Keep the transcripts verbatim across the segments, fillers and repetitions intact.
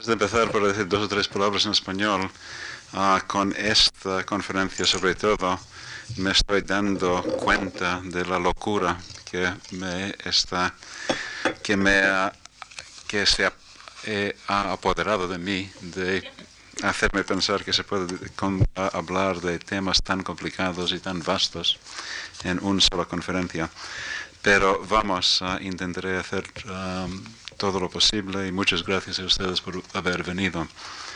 Antes de empezar por decir dos o tres palabras en español, uh, con esta conferencia sobre todo me estoy dando cuenta de la locura que me está, que me ha, que se ha, eh, ha apoderado de mí, de hacerme pensar que se puede con, a, hablar de temas tan complicados y tan vastos en una sola conferencia. Pero vamos, uh, intentaré hacer um, todo lo posible y muchas gracias a ustedes por haber venido.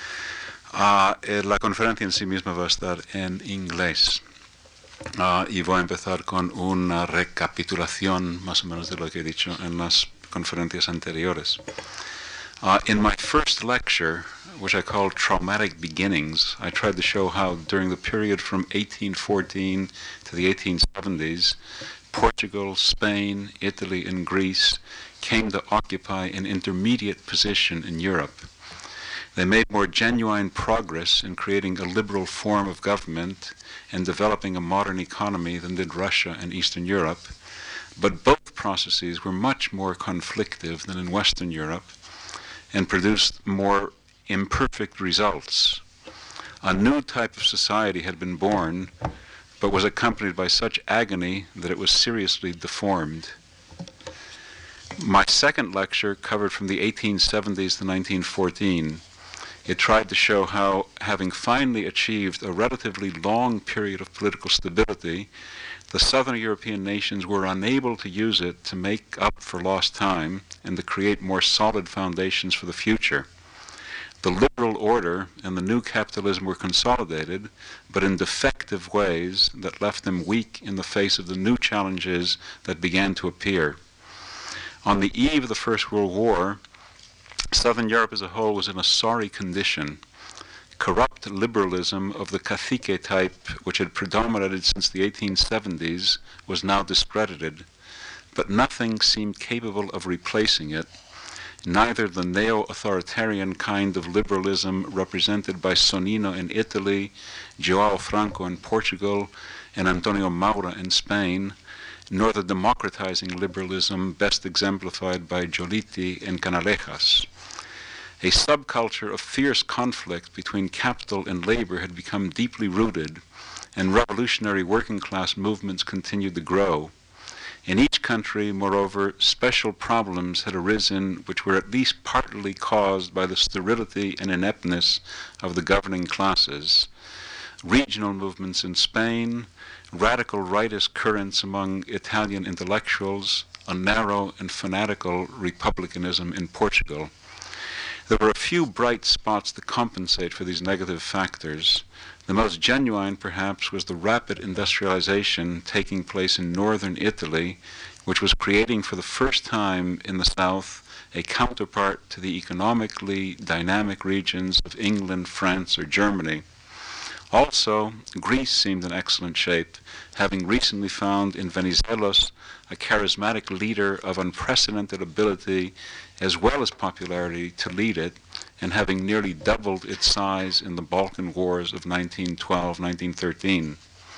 Uh, eh, la conferencia en sí misma va a estar en inglés. Uh, y voy a empezar con una recapitulación más o menos de lo que he dicho en las conferencias anteriores. Uh, in my first lecture, which I called Traumatic Beginnings, I tried to show how during the period from eighteen fourteen to the eighteen seventies, Portugal, Spain, Italy, and Greece came to occupy an intermediate position in Europe. They made more genuine progress in creating a liberal form of government and developing a modern economy than did Russia and Eastern Europe, but both processes were much more conflictive than in Western Europe and produced more imperfect results. A new type of society had been born, but was accompanied by such agony that it was seriously deformed. My second lecture covered from the eighteen seventies to nineteen fourteen. It tried to show how, having finally achieved a relatively long period of political stability, the Southern European nations were unable to use it to make up for lost time and to create more solid foundations for the future. The liberal order and the new capitalism were consolidated, but in defective ways that left them weak in the face of the new challenges that began to appear. On the eve of the First World War, Southern Europe as a whole was in a sorry condition. Corrupt liberalism of the cacique type, which had predominated since the eighteen seventies, was now discredited, but nothing seemed capable of replacing it. Neither the neo-authoritarian kind of liberalism represented by Sonnino in Italy, João Franco in Portugal, and Antonio Maura in Spain, nor the democratizing liberalism best exemplified by Giolitti and Canalejas. A subculture of fierce conflict between capital and labor had become deeply rooted, and revolutionary working-class movements continued to grow. In each country, moreover, special problems had arisen which were at least partly caused by the sterility and ineptness of the governing classes. Regional movements in Spain, radical rightist currents among Italian intellectuals, a narrow and fanatical republicanism in Portugal. There were a few bright spots to compensate for these negative factors. The most genuine, perhaps, was the rapid industrialization taking place in northern Italy, which was creating for the first time in the south a counterpart to the economically dynamic regions of England, France, or Germany. Also, Greece seemed in excellent shape, having recently found in Venizelos a charismatic leader of unprecedented ability as well as popularity to lead it, and having nearly doubled its size in the Balkan Wars of nineteen twelve to nineteen thirteen.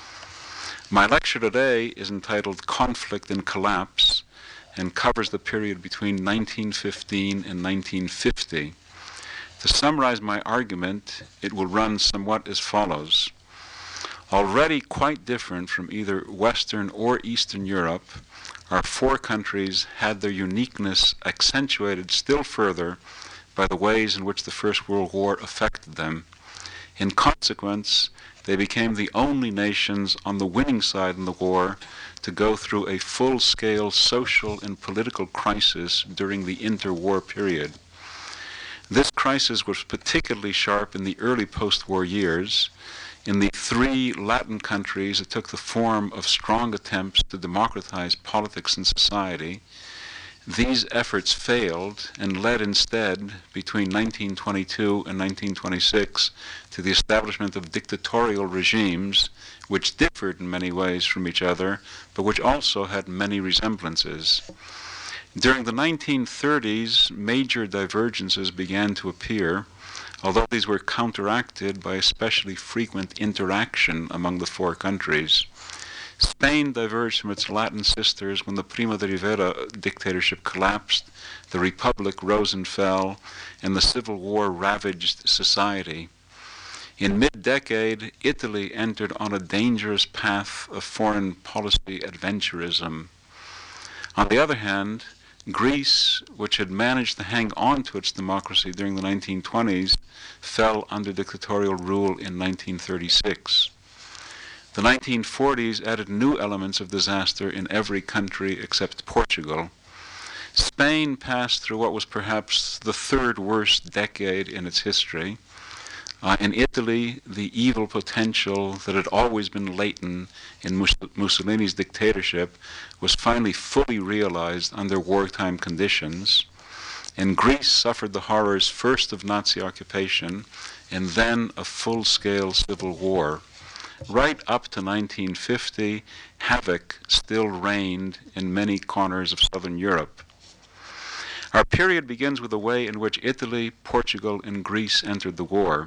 My lecture today is entitled Conflict and Collapse and covers the period between nineteen fifteen and nineteen fifty. To summarize my argument, it will run somewhat as follows. Already quite different from either Western or Eastern Europe, our four countries had their uniqueness accentuated still further by the ways in which the First World War affected them. In consequence, they became the only nations on the winning side in the war to go through a full-scale social and political crisis during the interwar period. This crisis was particularly sharp in the early post-war years. In the three Latin countries, it took the form of strong attempts to democratize politics and society. These efforts failed and led instead, between nineteen twenty-two and nineteen twenty-six, to the establishment of dictatorial regimes which differed in many ways from each other, but which also had many resemblances. During the nineteen thirties, major divergences began to appear, although these were counteracted by especially frequent interaction among the four countries. Spain diverged from its Latin sisters when the Primo de Rivera dictatorship collapsed, the Republic rose and fell, and the Civil War ravaged society. In mid-decade, Italy entered on a dangerous path of foreign policy adventurism. On the other hand, Greece, which had managed to hang on to its democracy during the nineteen twenties, fell under dictatorial rule in nineteen thirty-six. The nineteen forties added new elements of disaster in every country except Portugal. Spain passed through what was perhaps the third worst decade in its history. Uh, in Italy, the evil potential that had always been latent in Mus- Mussolini's dictatorship was finally fully realized under wartime conditions. And Greece suffered the horrors first of Nazi occupation and then of full-scale civil war. Right up to nineteen fifty, havoc still reigned in many corners of southern Europe. Our period begins with the way in which Italy, Portugal, and Greece entered the war.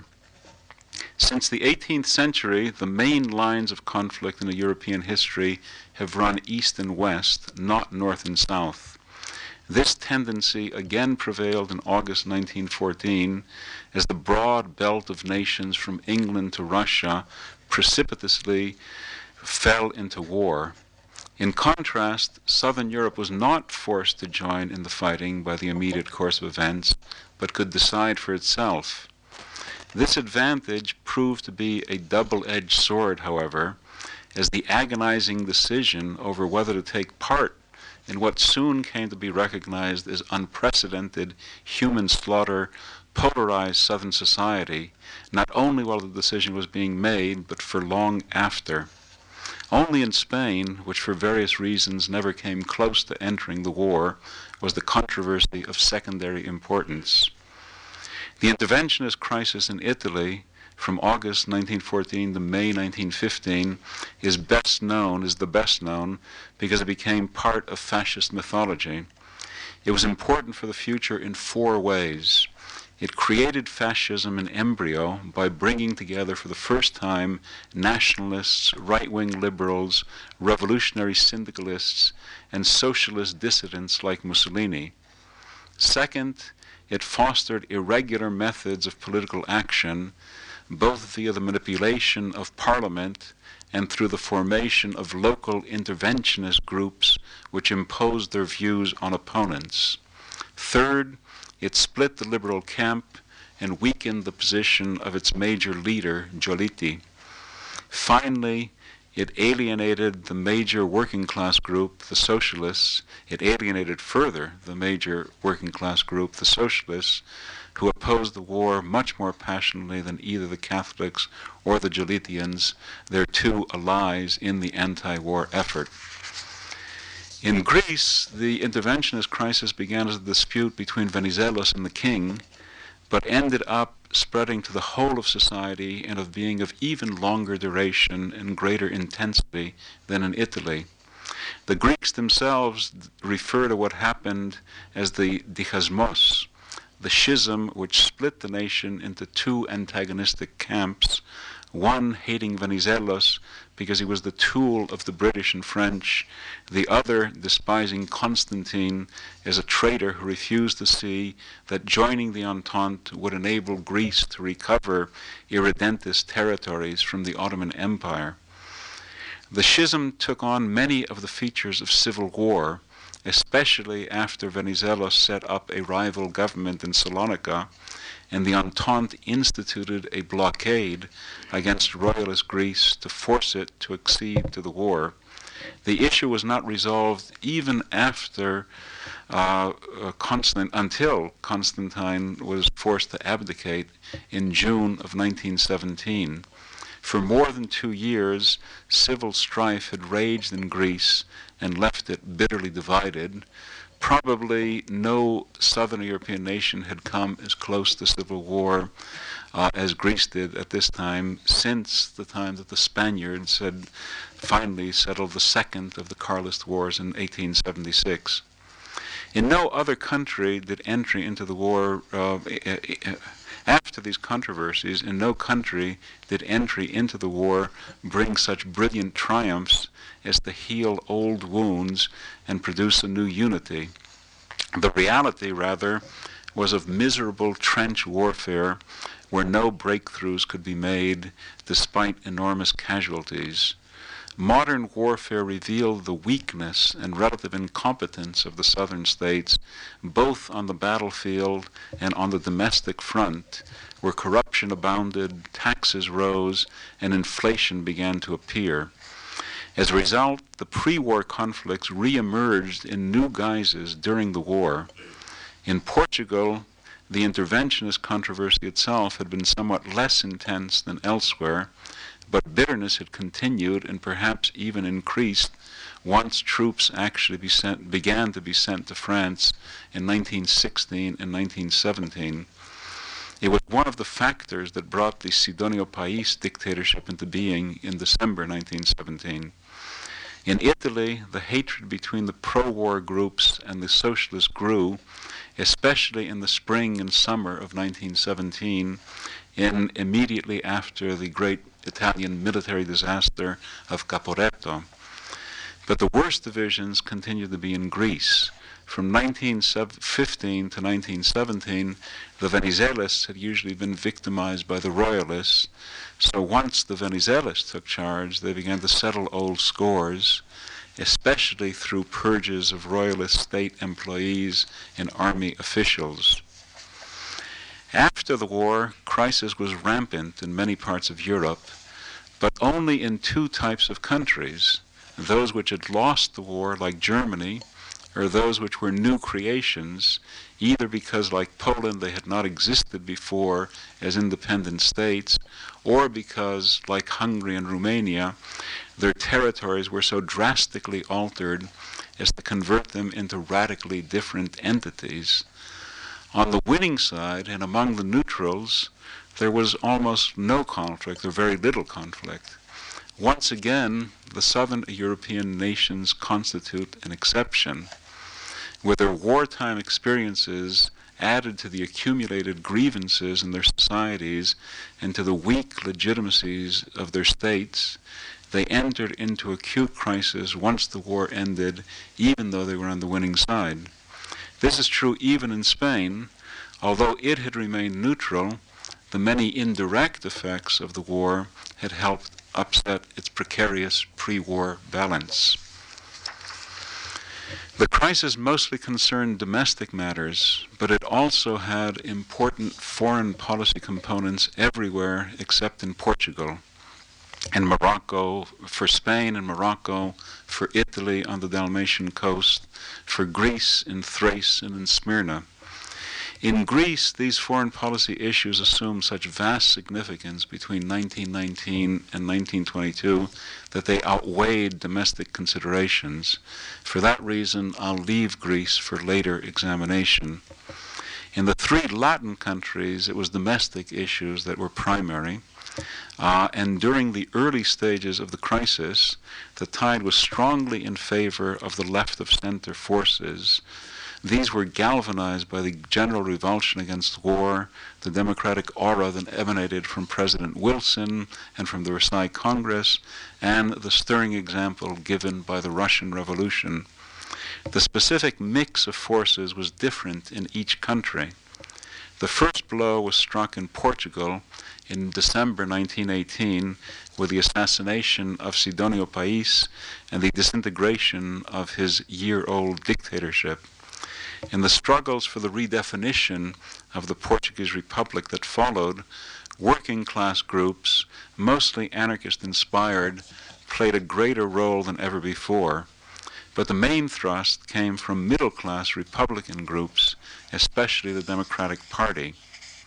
Since the eighteenth century, the main lines of conflict in the European history have run east and west, not north and south. This tendency again prevailed in August nineteen fourteen as the broad belt of nations from England to Russia precipitously fell into war. In contrast, Southern Europe was not forced to join in the fighting by the immediate course of events, but could decide for itself. This advantage proved to be a double-edged sword, however, as the agonizing decision over whether to take part in what soon came to be recognized as unprecedented human slaughter polarized Southern society, not only while the decision was being made, but for long after. Only in Spain, which for various reasons never came close to entering the war, was the controversy of secondary importance. The interventionist crisis in Italy from August nineteen fourteen to May nineteen fifteen is best known, is the best known, because it became part of fascist mythology. It was important for the future in four ways. It created fascism in embryo by bringing together for the first time nationalists, right-wing liberals, revolutionary syndicalists, and socialist dissidents like Mussolini. Second, it fostered irregular methods of political action, both via the manipulation of parliament and through the formation of local interventionist groups which imposed their views on opponents. Third, it split the liberal camp and weakened the position of its major leader, Giolitti. Finally, it alienated the major working class group, the socialists. It alienated further the major working class group, the socialists, who opposed the war much more passionately than either the Catholics or the Giolittians, their two allies in the anti-war effort. In Greece, the interventionist crisis began as a dispute between Venizelos and the king, but ended up spreading to the whole of society and of being of even longer duration and greater intensity than in Italy. The Greeks themselves refer to what happened as the dichasmos, the schism which split the nation into two antagonistic camps, one hating Venizelos because he was the tool of the British and French, the other despising Constantine as a traitor who refused to see that joining the Entente would enable Greece to recover irredentist territories from the Ottoman Empire. The schism took on many of the features of civil war, especially after Venizelos set up a rival government in Salonika, and the Entente instituted a blockade against royalist Greece to force it to accede to the war. The issue was not resolved even after uh, uh, Constant, until Constantine was forced to abdicate in June of nineteen seventeen. For more than two years, civil strife had raged in Greece and left it bitterly divided. Probably no southern European nation had come as close to civil war uh, as Greece did at this time, since the time that the Spaniards had finally settled the second of the Carlist Wars in eighteen seventy-six. In no other country did entry into the war uh, After these controversies, in no country did entry into the war bring such brilliant triumphs as to heal old wounds and produce a new unity. The reality, rather, was of miserable trench warfare where no breakthroughs could be made despite enormous casualties. Modern warfare revealed the weakness and relative incompetence of the southern states, both on the battlefield and on the domestic front, where corruption abounded, taxes rose, and inflation began to appear. As a result, the pre-war conflicts re-emerged in new guises during the war. In Portugal, the interventionist controversy itself had been somewhat less intense than elsewhere, but bitterness had continued and perhaps even increased once troops actually be sent, began to be sent to France in nineteen sixteen and nineteen seventeen. It was one of the factors that brought the Sidonio Pais dictatorship into being in December nineteen seventeen. In Italy, the hatred between the pro-war groups and the socialists grew, especially in the spring and summer of nineteen seventeen, in immediately after the great Italian military disaster of Caporetto. But the worst divisions continued to be in Greece. From nineteen fifteen to nineteen seventeen, the Venizelos had usually been victimized by the royalists, so once the Venizelos took charge, they began to settle old scores, especially through purges of royalist state employees and army officials. After the war, crisis was rampant in many parts of Europe, but only in two types of countries, those which had lost the war, like Germany, or those which were new creations, either because, like Poland, they had not existed before as independent states, or because, like Hungary and Romania, their territories were so drastically altered as to convert them into radically different entities. On the winning side, and among the neutrals, there was almost no conflict, or very little conflict. Once again, the southern European nations constitute an exception, with their wartime experiences added to the accumulated grievances in their societies and to the weak legitimacies of their states. They entered into acute crisis once the war ended, even though they were on the winning side. This is true even in Spain. Although it had remained neutral, the many indirect effects of the war had helped upset its precarious pre-war balance. The crisis mostly concerned domestic matters, but it also had important foreign policy components everywhere except in Portugal, and Morocco, for Spain and Morocco, for Italy on the Dalmatian coast, for Greece in Thrace and in Smyrna. In Greece, these foreign policy issues assumed such vast significance between nineteen nineteen and nineteen twenty-two that they outweighed domestic considerations. For that reason, I'll leave Greece for later examination. In the three Latin countries, it was domestic issues that were primary. Uh, and during the early stages of the crisis, the tide was strongly in favor of the left-of-center forces. These were galvanized by the general revulsion against war, the democratic aura that emanated from President Wilson and from the Versailles Congress, and the stirring example given by the Russian Revolution. The specific mix of forces was different in each country. The first blow was struck in Portugal in December nineteen eighteen with the assassination of Sidonio Pais and the disintegration of his year-old dictatorship. In the struggles for the redefinition of the Portuguese Republic that followed, working class groups, mostly anarchist-inspired, played a greater role than ever before. But the main thrust came from middle-class Republican groups, especially the Democratic Party.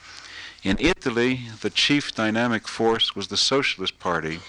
In Italy, the chief dynamic force was the Socialist Party.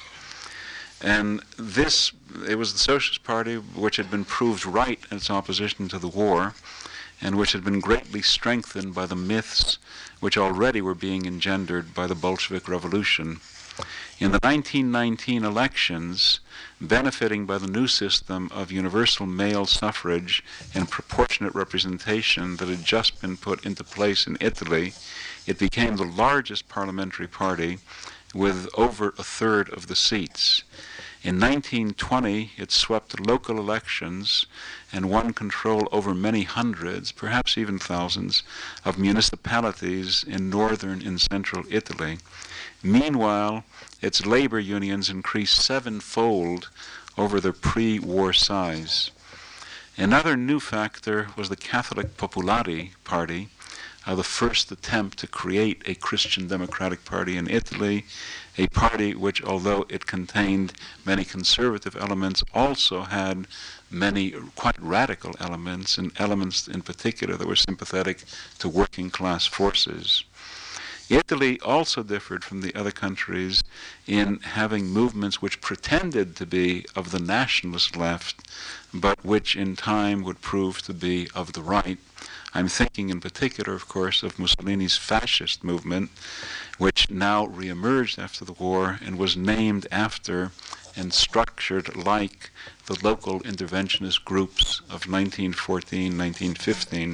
And this, it was the Socialist Party which had been proved right in its opposition to the war, and which had been greatly strengthened by the myths which already were being engendered by the Bolshevik Revolution. In the nineteen nineteen elections, benefiting by the new system of universal male suffrage and proportionate representation that had just been put into place in Italy, It became the largest parliamentary party with over a third of the seats. In nineteen twenty, it swept local elections and won control over many hundreds, perhaps even thousands, of municipalities in northern and central Italy. Meanwhile, its labor unions increased sevenfold over their pre-war size. Another new factor was the Catholic Popolari Party, uh, the first attempt to create a Christian Democratic Party in Italy, a party which, although it contained many conservative elements, also had many quite radical elements, and elements in particular that were sympathetic to working class forces. Italy also differed from the other countries in having movements which pretended to be of the nationalist left, but which in time would prove to be of the right. I'm thinking in particular, of course, of Mussolini's fascist movement, which now reemerged after the war and was named after and structured like the local interventionist groups of nineteen fourteen, nineteen fifteen.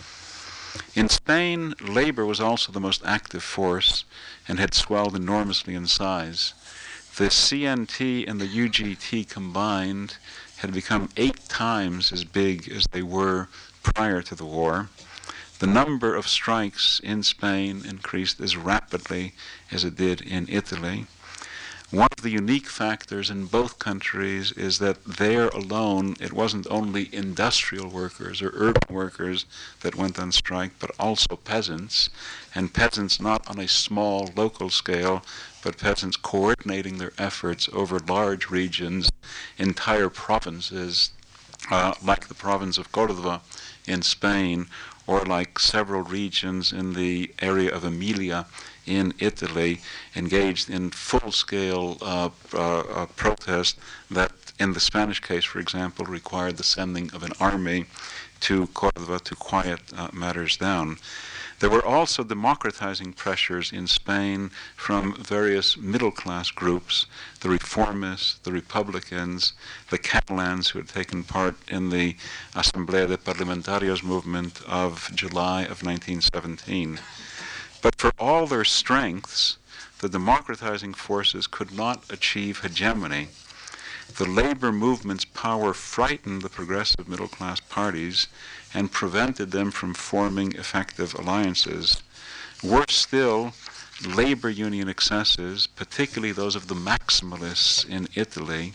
In Spain, labor was also the most active force and had swelled enormously in size. The C N T and the U G T combined had become eight times as big as they were prior to the war. The number of strikes in Spain increased as rapidly as it did in Italy. One of the unique factors in both countries is that there alone it wasn't only industrial workers or urban workers that went on strike, but also peasants, and peasants not on a small local scale, but peasants coordinating their efforts over large regions, entire provinces, uh, like the province of Córdoba in Spain, or like several regions in the area of Emilia in Italy, engaged in full-scale uh, uh, uh, protest that, in the Spanish case, for example, required the sending of an army to Córdoba to quiet uh, matters down. There were also democratizing pressures in Spain from various middle-class groups, the reformists, the Republicans, the Catalans who had taken part in the Asamblea de Parlamentarios movement of July of nineteen seventeen. But for all their strengths, the democratizing forces could not achieve hegemony. The labor movement's power frightened the progressive middle-class parties and prevented them from forming effective alliances. Worse still, labor union excesses, particularly those of the maximalists in Italy,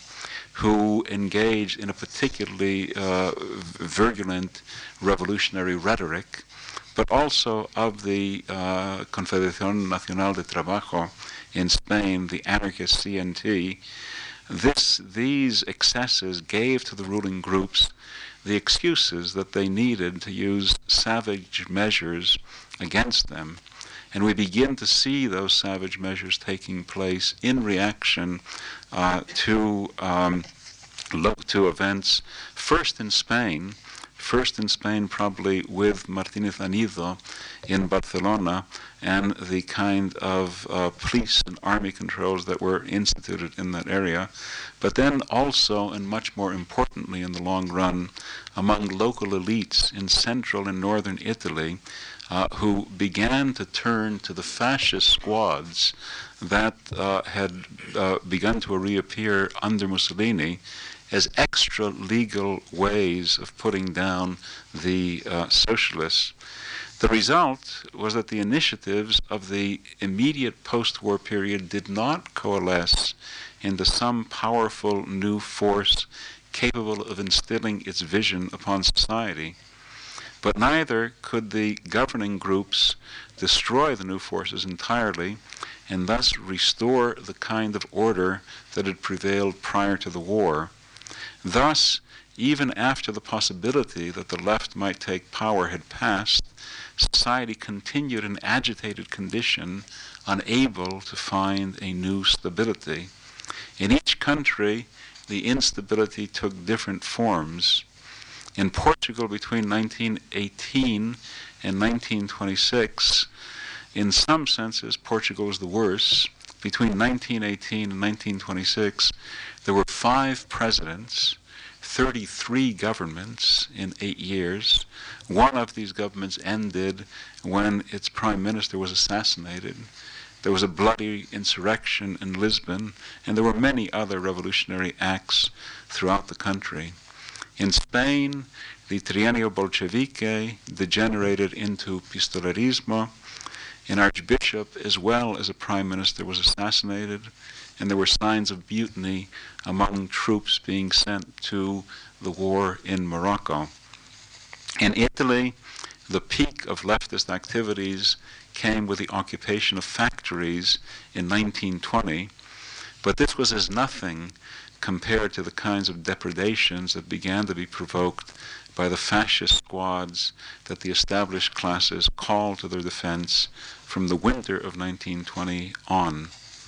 who engaged in a particularly uh, virulent revolutionary rhetoric, but also of the uh, Confederación Nacional de Trabajo in Spain, the anarchist C N T. This, these excesses gave to the ruling groups the excuses that they needed to use savage measures against them. And we begin to see those savage measures taking place in reaction uh, to, um, to events, first in Spain, first in Spain probably with Martínez Anido in Barcelona, and the kind of uh, police and army controls that were instituted in that area, but then also, and much more importantly in the long run, among local elites in central and northern Italy, uh, who began to turn to the fascist squads that uh, had uh, begun to reappear under Mussolini as extra legal ways of putting down the uh, socialists. The result was that the initiatives of the immediate post-war period did not coalesce into some powerful new force capable of instilling its vision upon society. But neither could the governing groups destroy the new forces entirely and thus restore the kind of order that had prevailed prior to the war. Thus, even after the possibility that the left might take power had passed, society continued in agitated condition, unable to find a new stability. In each country, the instability took different forms. In Portugal, between nineteen eighteen and nineteen twenty-six, in some senses, Portugal was the worst. Between nineteen eighteen and nineteen twenty-six, there were five presidents. thirty-three governments in eight years. One of these governments ended when its prime minister was assassinated. There was a bloody insurrection in Lisbon, and there were many other revolutionary acts throughout the country. In Spain, the Trienio Bolchevique degenerated into pistolerismo. An archbishop, as well as a prime minister, was assassinated, and there were signs of mutiny among troops being sent to the war in Morocco. In Italy, the peak of leftist activities came with the occupation of factories in nineteen twenty, but this was as nothing compared to the kinds of depredations that began to be provoked by the fascist squads that the established classes called to their defense from the winter of nineteen twenty on.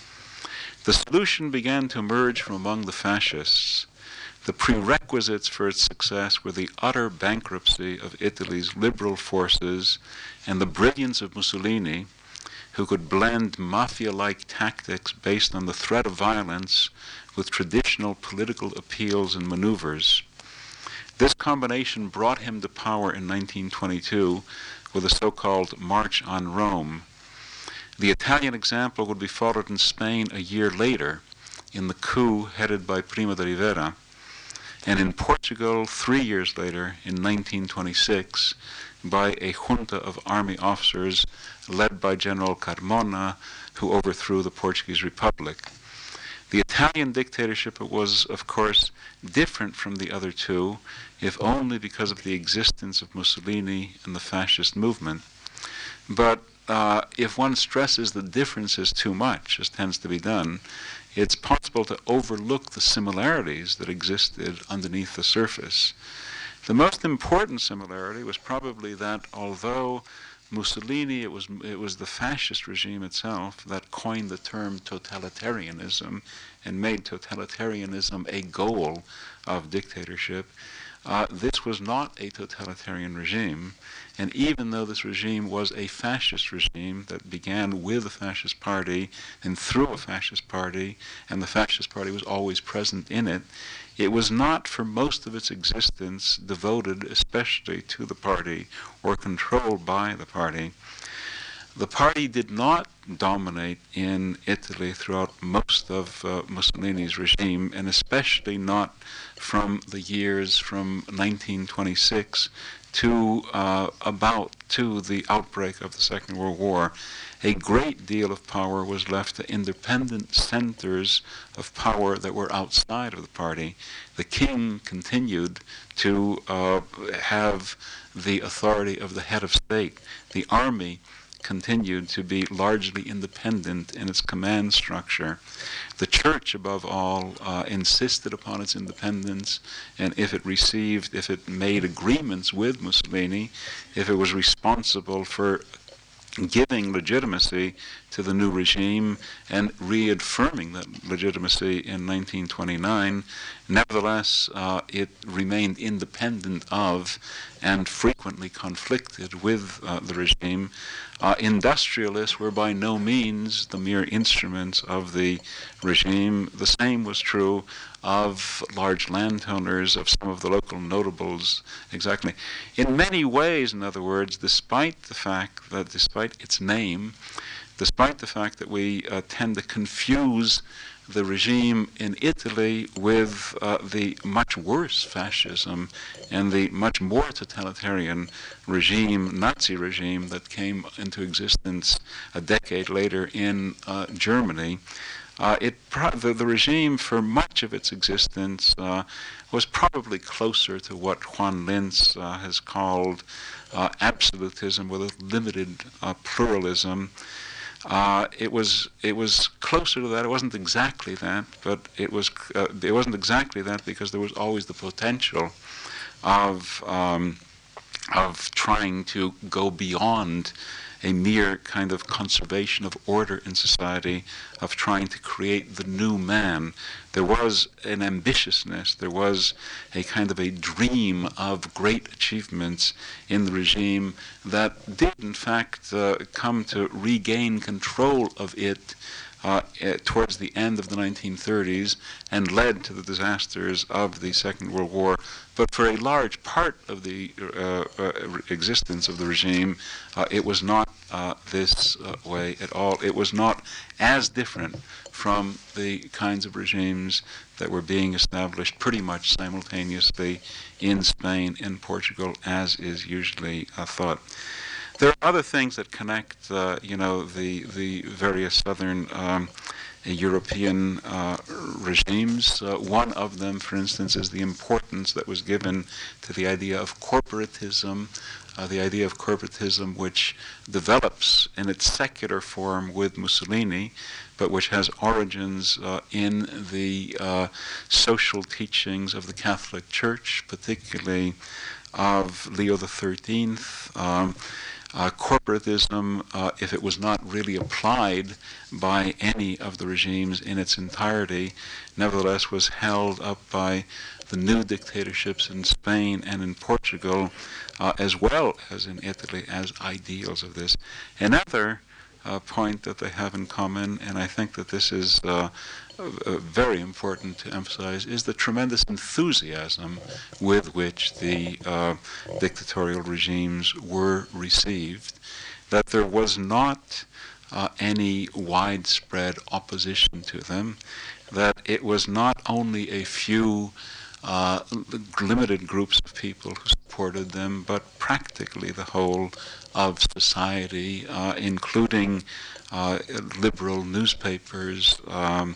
The solution began to emerge from among the fascists. The prerequisites for its success were the utter bankruptcy of Italy's liberal forces and the brilliance of Mussolini, who could blend mafia-like tactics based on the threat of violence with traditional political appeals and maneuvers. This combination brought him to power in nineteen twenty-two with the so-called March on Rome. The Italian example would be followed in Spain a year later in the coup headed by Primo de Rivera, and in Portugal three years later in nineteen twenty-six by a junta of army officers led by General Carmona, who overthrew the Portuguese Republic. The Italian dictatorship was, of course, different from the other two, if only because of the existence of Mussolini and the fascist movement. But uh, if one stresses the differences too much, as tends to be done, it's possible to overlook the similarities that existed underneath the surface. The most important similarity was probably that although Mussolini, it was, it was the fascist regime itself that coined the term totalitarianism and made totalitarianism a goal of dictatorship. Uh, this was not a totalitarian regime, and even though this regime was a fascist regime that began with a fascist party and through a fascist party, and the fascist party was always present in it, it was not for most of its existence devoted especially to the party or controlled by the party. The party did not dominate in Italy throughout most of uh, Mussolini's regime, and especially not from the years from nineteen twenty-six to uh, about to the outbreak of the Second World War. A great deal of power was left to independent centers of power that were outside of the party. The king continued to uh, have the authority of the head of state. The army continued to be largely independent in its command structure. The church, above all, uh, insisted upon its independence, and if it received, if it made agreements with Mussolini, if it was responsible for giving legitimacy to the new regime and reaffirming that legitimacy in nineteen twenty-nine, nevertheless, uh, it remained independent of and frequently conflicted with uh, the regime. Uh, industrialists were by no means the mere instruments of the regime. The same was true of large landowners, of some of the local notables, exactly. In many ways, in other words, despite the fact that, despite its name, despite the fact that we uh, tend to confuse the regime in Italy with uh, the much worse fascism and the much more totalitarian regime, Nazi regime, that came into existence a decade later in uh, Germany. Uh, it pro- the, the regime, for much of its existence, uh, was probably closer to what Juan Linz uh, has called uh, absolutism with a limited uh, pluralism. Uh, it was it was closer to that. It wasn't exactly that, but it was uh, it wasn't exactly that because there was always the potential of um, of trying to go beyond a mere kind of conservation of order in society, of trying to create the new man, There was an ambitiousness, there was a kind of a dream of great achievements in the regime that did in fact uh, come to regain control of it Uh, uh, towards the end of the nineteen thirties and led to the disasters of the Second World War. But for a large part of the uh, uh, existence of the regime, uh, it was not uh, this uh, way at all. It was not as different from the kinds of regimes that were being established pretty much simultaneously in Spain and Portugal, as is usually uh, thought. There are other things that connect, uh, you know, the the various southern um, European uh, regimes. Uh, one of them, for instance, is the importance that was given to the idea of corporatism, uh, the idea of corporatism which develops in its secular form with Mussolini, but which has origins uh, in the uh, social teachings of the Catholic Church, particularly of Leo the thirteenth. Um, Uh, corporatism, uh, if it was not really applied by any of the regimes in its entirety, nevertheless was held up by the new dictatorships in Spain and in Portugal, uh, as well as in Italy, as ideals of this. Another uh, point that they have in common, and I think that this is uh, uh, very important to emphasize, is the tremendous enthusiasm with which the uh, dictatorial regimes were received, that there was not uh, any widespread opposition to them, that it was not only a few uh, limited groups of people who supported them, but practically the whole of society, uh, including uh, liberal newspapers. Um,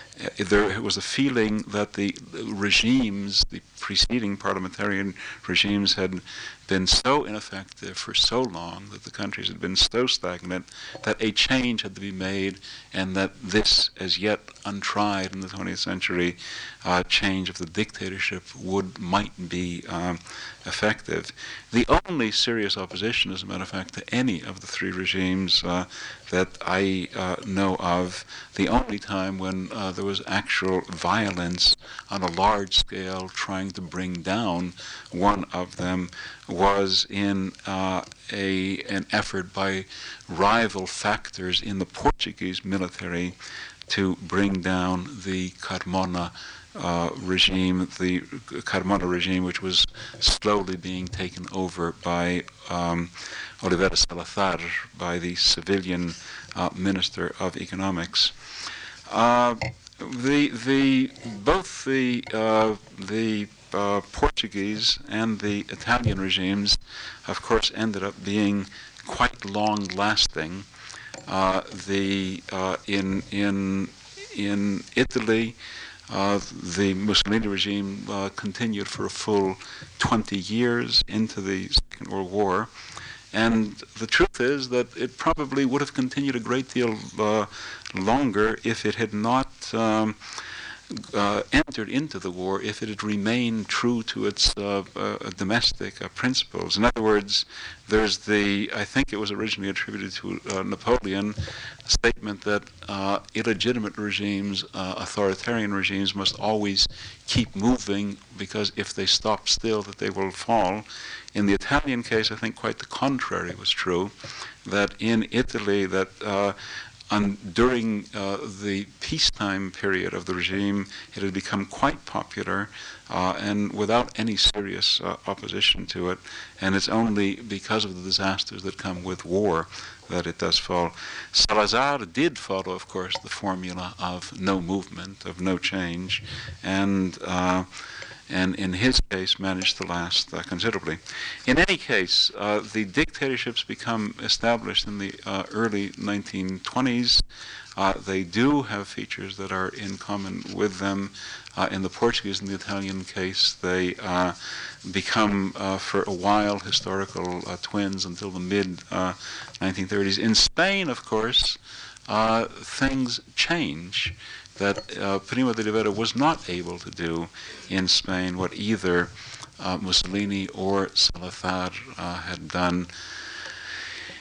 there was a feeling that the regimes, the preceding parliamentarian regimes, had been so ineffective for so long, that the countries had been so stagnant, that a change had to be made, and that this, as yet untried in the twentieth century, uh, change of the dictatorship would might be um, effective. The only serious opposition, as a matter of fact, to any of the three regimes uh, that I uh, know of, the only time when uh, there was actual violence on a large scale trying to bring down one of them, was in uh, a an effort by rival factors in the Portuguese military to bring down the Carmona uh, regime, the Carmona regime, which was slowly being taken over by um, Oliveira Salazar, by the civilian uh, Minister of Economics. Uh, the the both the uh, the Uh, Portuguese and the Italian regimes, of course, ended up being quite long-lasting. Uh, the uh, in in in Italy, uh, the Mussolini regime uh, continued for a full twenty years into the Second World War, and the truth is that it probably would have continued a great deal uh, longer if it had not Um, Uh, entered into the war, if it had remained true to its uh, uh, domestic uh, principles. In other words, there's the, I think it was originally attributed to uh, Napoleon, a statement that uh, illegitimate regimes, uh, authoritarian regimes, must always keep moving, because if they stop still, that they will fall. In the Italian case, I think quite the contrary was true, that in Italy, that uh, And during uh, the peacetime period of the regime, it had become quite popular, uh, and without any serious uh, opposition to it. And it's only because of the disasters that come with war that it does fall. Salazar did follow, of course, the formula of no movement, of no change, and uh, and in his case managed to last uh, considerably. In any case, uh, the dictatorships become established in the uh, early nineteen twenties. Uh, they do have features that are in common with them. Uh, in the Portuguese and the Italian case, they uh, become, uh, for a while, historical uh, twins until the mid uh, nineteen thirties. In Spain, of course, uh, things change. That uh, Primo de Rivera was not able to do in Spain what either uh, Mussolini or Salazar uh, had done.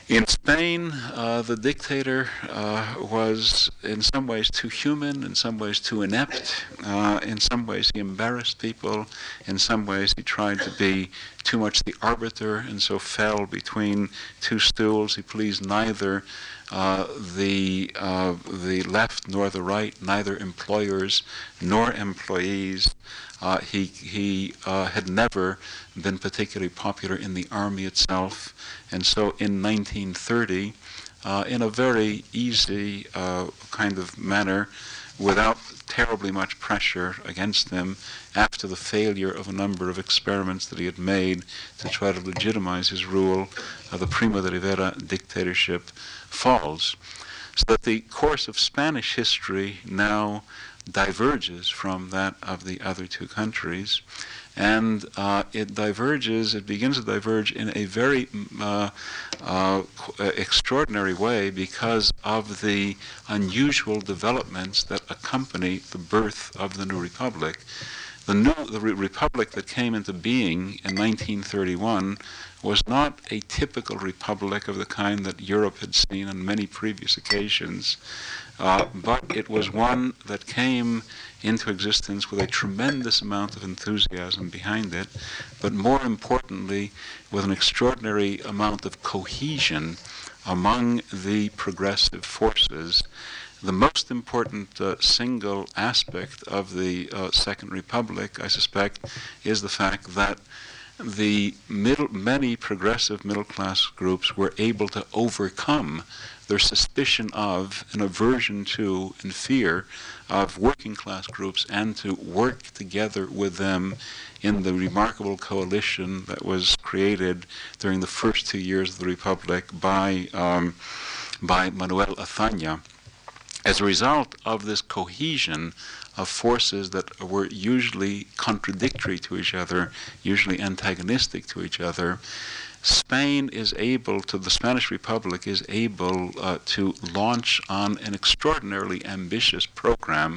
In Spain, uh, the dictator uh, was in some ways too human, in some ways too inept, uh, in some ways he embarrassed people, in some ways he tried to be too much the arbiter and so fell between two stools. He pleased neither uh, the, uh, the left nor the right, neither employers nor employees. Uh, he he uh, had never been particularly popular in the army itself, and so in nineteen thirty, uh, in a very easy uh, kind of manner, without terribly much pressure against him, after the failure of a number of experiments that he had made to try to legitimize his rule, uh, the Primo de Rivera dictatorship falls. So that the course of Spanish history now diverges from that of the other two countries, and uh, it diverges, it begins to diverge in a very uh, uh, extraordinary way because of the unusual developments that accompany the birth of the new republic. The new the re- republic that came into being in nineteen thirty-one was not a typical republic of the kind that Europe had seen on many previous occasions, uh, but it was one that came into existence with a tremendous amount of enthusiasm behind it, but more importantly, with an extraordinary amount of cohesion among the progressive forces. The most important uh, single aspect of the uh, Second Republic, I suspect, is the fact that the middle, many progressive middle-class groups were able to overcome their suspicion of, and aversion to, and fear of working-class groups, and to work together with them in the remarkable coalition that was created during the first two years of the Republic by, um, by Manuel Azaña. As a result of this cohesion of forces that were usually contradictory to each other, usually antagonistic to each other, Spain is able to, the Spanish Republic is able uh, to launch on an extraordinarily ambitious program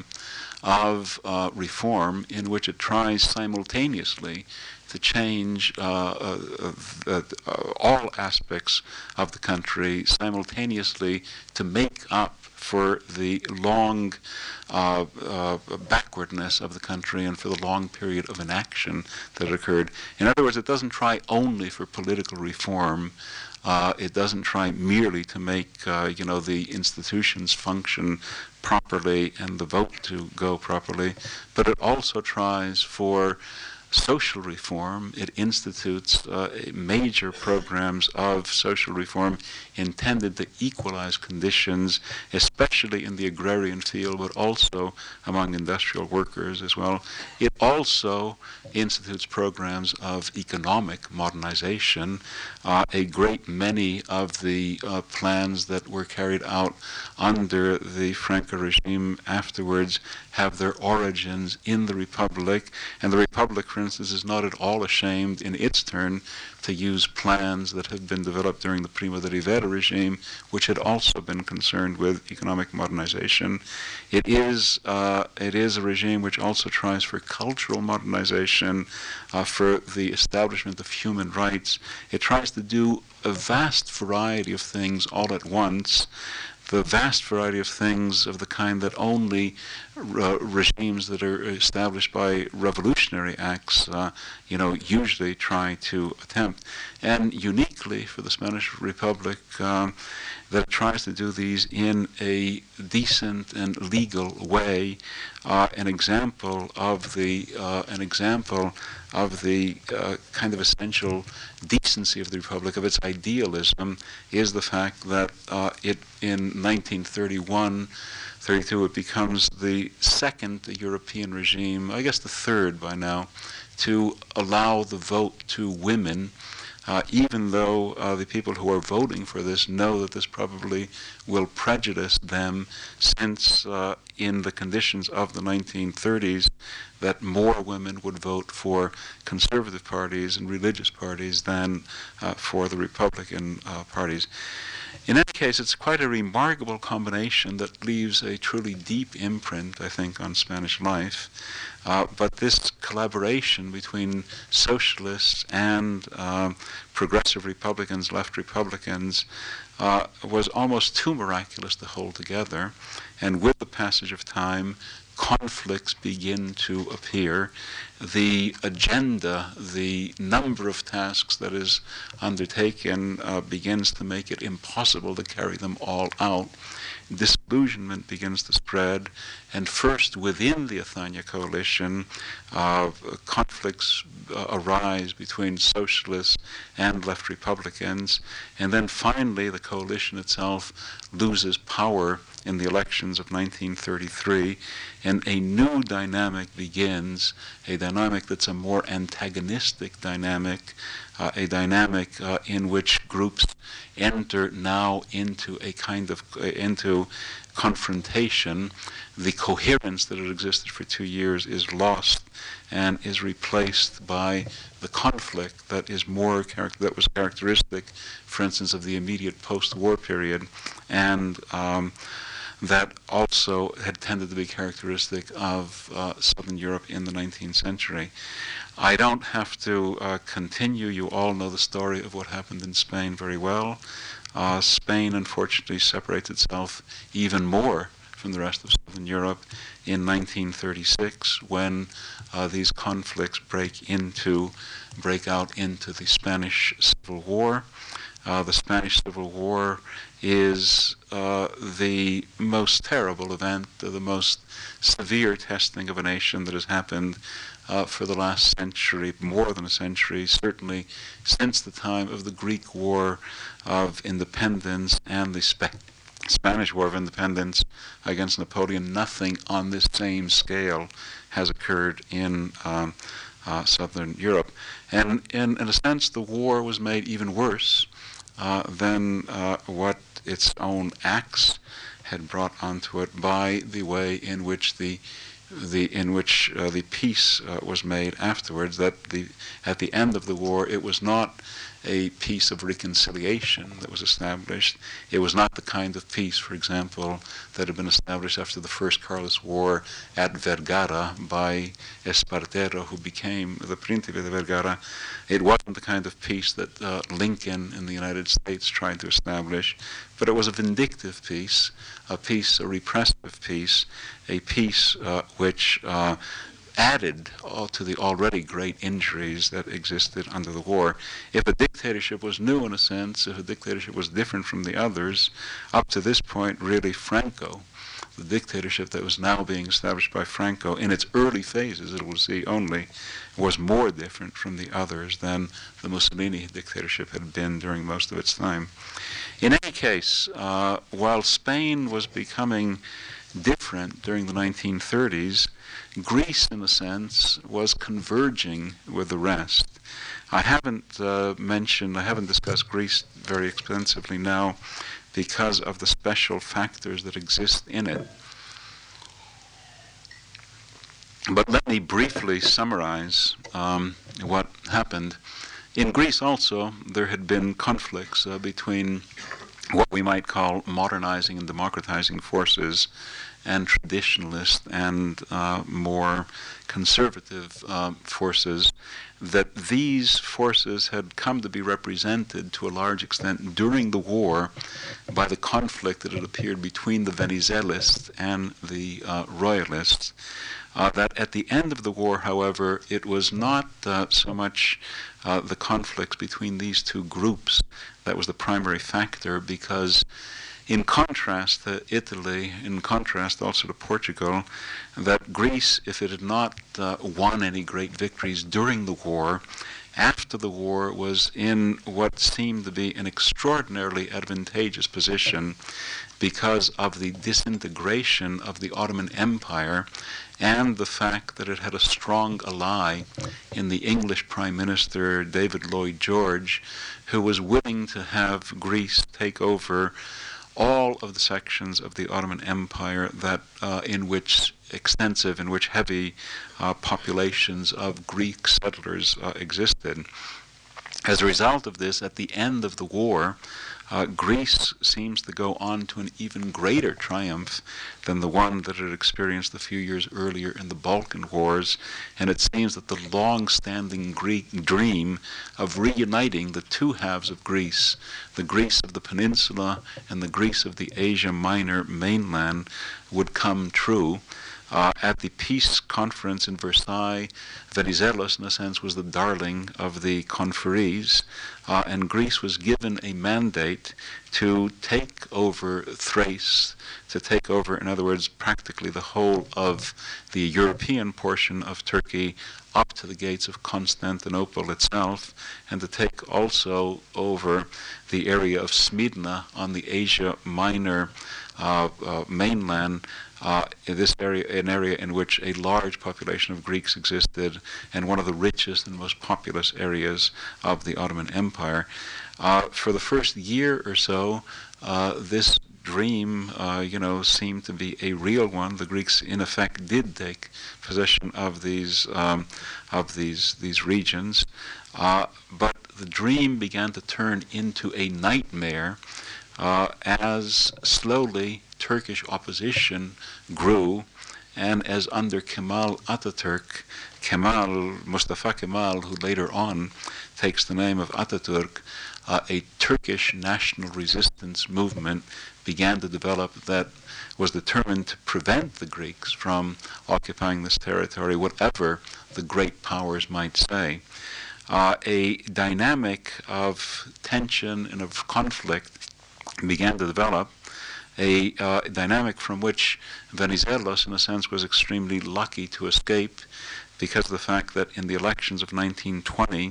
of uh, reform in which it tries simultaneously to change uh, uh, uh, uh, all aspects of the country, simultaneously to make up for the long uh, uh, backwardness of the country and for the long period of inaction that occurred. In other words, it doesn't try only for political reform. Uh, it doesn't try merely to make, uh, you know, the institutions function properly and the vote to go properly, but it also tries for social reform. It institutes uh, major programs of social reform intended to equalize conditions, especially in the agrarian field, but also among industrial workers as well. It also institutes programs of economic modernization. Uh, a great many of the uh, plans that were carried out under the Franco regime afterwards have their origins in the Republic, and the Republic, for instance, is not at all ashamed in its turn to use plans that have been developed during the Primo de Rivera regime, which had also been concerned with economic modernization. It is uh, it is a regime which also tries for cultural modernization, uh, for the establishment of human rights. It tries to do a vast variety of things all at once, the vast variety of things of the kind that only uh, regimes that are established by revolutionary acts, uh, you know, usually try to attempt. And uniquely for the Spanish Republic, um, that it tries to do these in a decent and legal way. Uh, an example of the uh, an example of the uh, kind of essential decency of the Republic, of its idealism, is the fact that uh, it in nineteen thirty-one, thirty-two, it becomes the second European regime, I guess the third by now, to allow the vote to women. Uh, even though uh, the people who are voting for this know that this probably will prejudice them, since uh, in the conditions of the nineteen thirties that more women would vote for conservative parties and religious parties than uh, for the Republican uh, parties. In any case, it's quite a remarkable combination that leaves a truly deep imprint, I think, on Spanish life. Uh, but this collaboration between socialists and uh, progressive Republicans, left Republicans, uh, was almost too miraculous to hold together. And with the passage of time, conflicts begin to appear. The agenda, the number of tasks that is undertaken uh, begins to make it impossible to carry them all out. Disillusionment begins to spread, and first within the Athana coalition, uh, conflicts uh, arise between socialists and left Republicans, and then finally the coalition itself loses power in the elections of nineteen thirty-three, and a new dynamic begins, a dynamic that's a more antagonistic dynamic, uh, a dynamic uh, in which groups enter now into a kind of, uh, into confrontation. The coherence that had existed for two years is lost and is replaced by the conflict that is more char- that was characteristic, for instance, of the immediate post-war period, and um, that also had tended to be characteristic of uh, Southern Europe in the nineteenth century. I don't have to uh, continue. You all know the story of what happened in Spain very well. Uh, Spain, unfortunately, separates itself even more from the rest of Southern Europe in nineteen thirty-six, when uh, these conflicts break into, break out into the Spanish Civil War. Uh, the Spanish Civil War is uh, the most terrible event, uh, the most severe testing of a nation that has happened uh, for the last century, more than a century, certainly since the time of the Greek War of Independence and the Spe- Spanish War of Independence against Napoleon. Nothing on this same scale has occurred in um, uh, Southern Europe. And in, in a sense, the war was made even worse uh, than uh, what its own acts had brought onto it by the way in which the the in which uh, the peace uh, was made afterwards. That the at the end of the war, it was not a peace of reconciliation that was established. It was not the kind of peace, for example, that had been established after the First Carlist War at Vergara by Espartero, who became the Príncipe de Vergara. It wasn't the kind of peace that uh, Lincoln in the United States tried to establish, but it was a vindictive peace, a peace, a repressive peace, a peace uh, which uh, added all to the already great injuries that existed under the war. If a dictatorship was new in a sense, if a dictatorship was different from the others, up to this point, really Franco, the dictatorship that was now being established by Franco in its early phases, it will see only, was more different from the others than the Mussolini dictatorship had been during most of its time. In any case, uh, while Spain was becoming different during the nineteen thirties, Greece, in a sense, was converging with the rest. I haven't uh, mentioned, I haven't discussed Greece very extensively now because of the special factors that exist in it. But let me briefly summarize um, what happened. In Greece also, there had been conflicts uh, between what we might call modernizing and democratizing forces and traditionalist and uh, more conservative uh, forces, that these forces had come to be represented to a large extent during the war by the conflict that had appeared between the Venizelists and the uh, Royalists. Uh, that at the end of the war, however, it was not uh, so much uh, the conflicts between these two groups that was the primary factor, because in contrast to Italy, in contrast also to Portugal, that Greece, if it had not uh, won any great victories during the war, after the war was in what seemed to be an extraordinarily advantageous position because of the disintegration of the Ottoman Empire and the fact that it had a strong ally in the English Prime Minister David Lloyd George, who was willing to have Greece take over all of the sections of the Ottoman Empire that uh, in which extensive, in which heavy uh, populations of Greek settlers uh, existed. As a result of this, at the end of the war, uh, Greece seems to go on to an even greater triumph than the one that it experienced a few years earlier in the Balkan Wars, and it seems that the long-standing Greek dream of reuniting the two halves of Greece, the Greece of the peninsula and the Greece of the Asia Minor mainland, would come true. Uh, at the peace conference in Versailles, Venizelos, in a sense, was the darling of the conferees, uh, and Greece was given a mandate to take over Thrace, to take over, in other words, practically the whole of the European portion of Turkey up to the gates of Constantinople itself, and to take also over the area of Smyrna on the Asia Minor uh, uh, mainland. Uh, in this area, an area in which a large population of Greeks existed, and one of the richest and most populous areas of the Ottoman Empire. Uh, for the first year or so, uh, this dream, uh, you know, seemed to be a real one. The Greeks, in effect, did take possession of these um, of these these regions, uh, but the dream began to turn into a nightmare uh, as slowly Turkish opposition grew, and as under Kemal Ataturk, Kemal, Mustafa Kemal, who later on takes the name of Ataturk, uh, a Turkish national resistance movement began to develop that was determined to prevent the Greeks from occupying this territory, whatever the great powers might say. Uh, a dynamic of tension and of conflict began to develop, a uh, dynamic from which Venizelos, in a sense, was extremely lucky to escape, because of the fact that in the elections of nineteen twenty,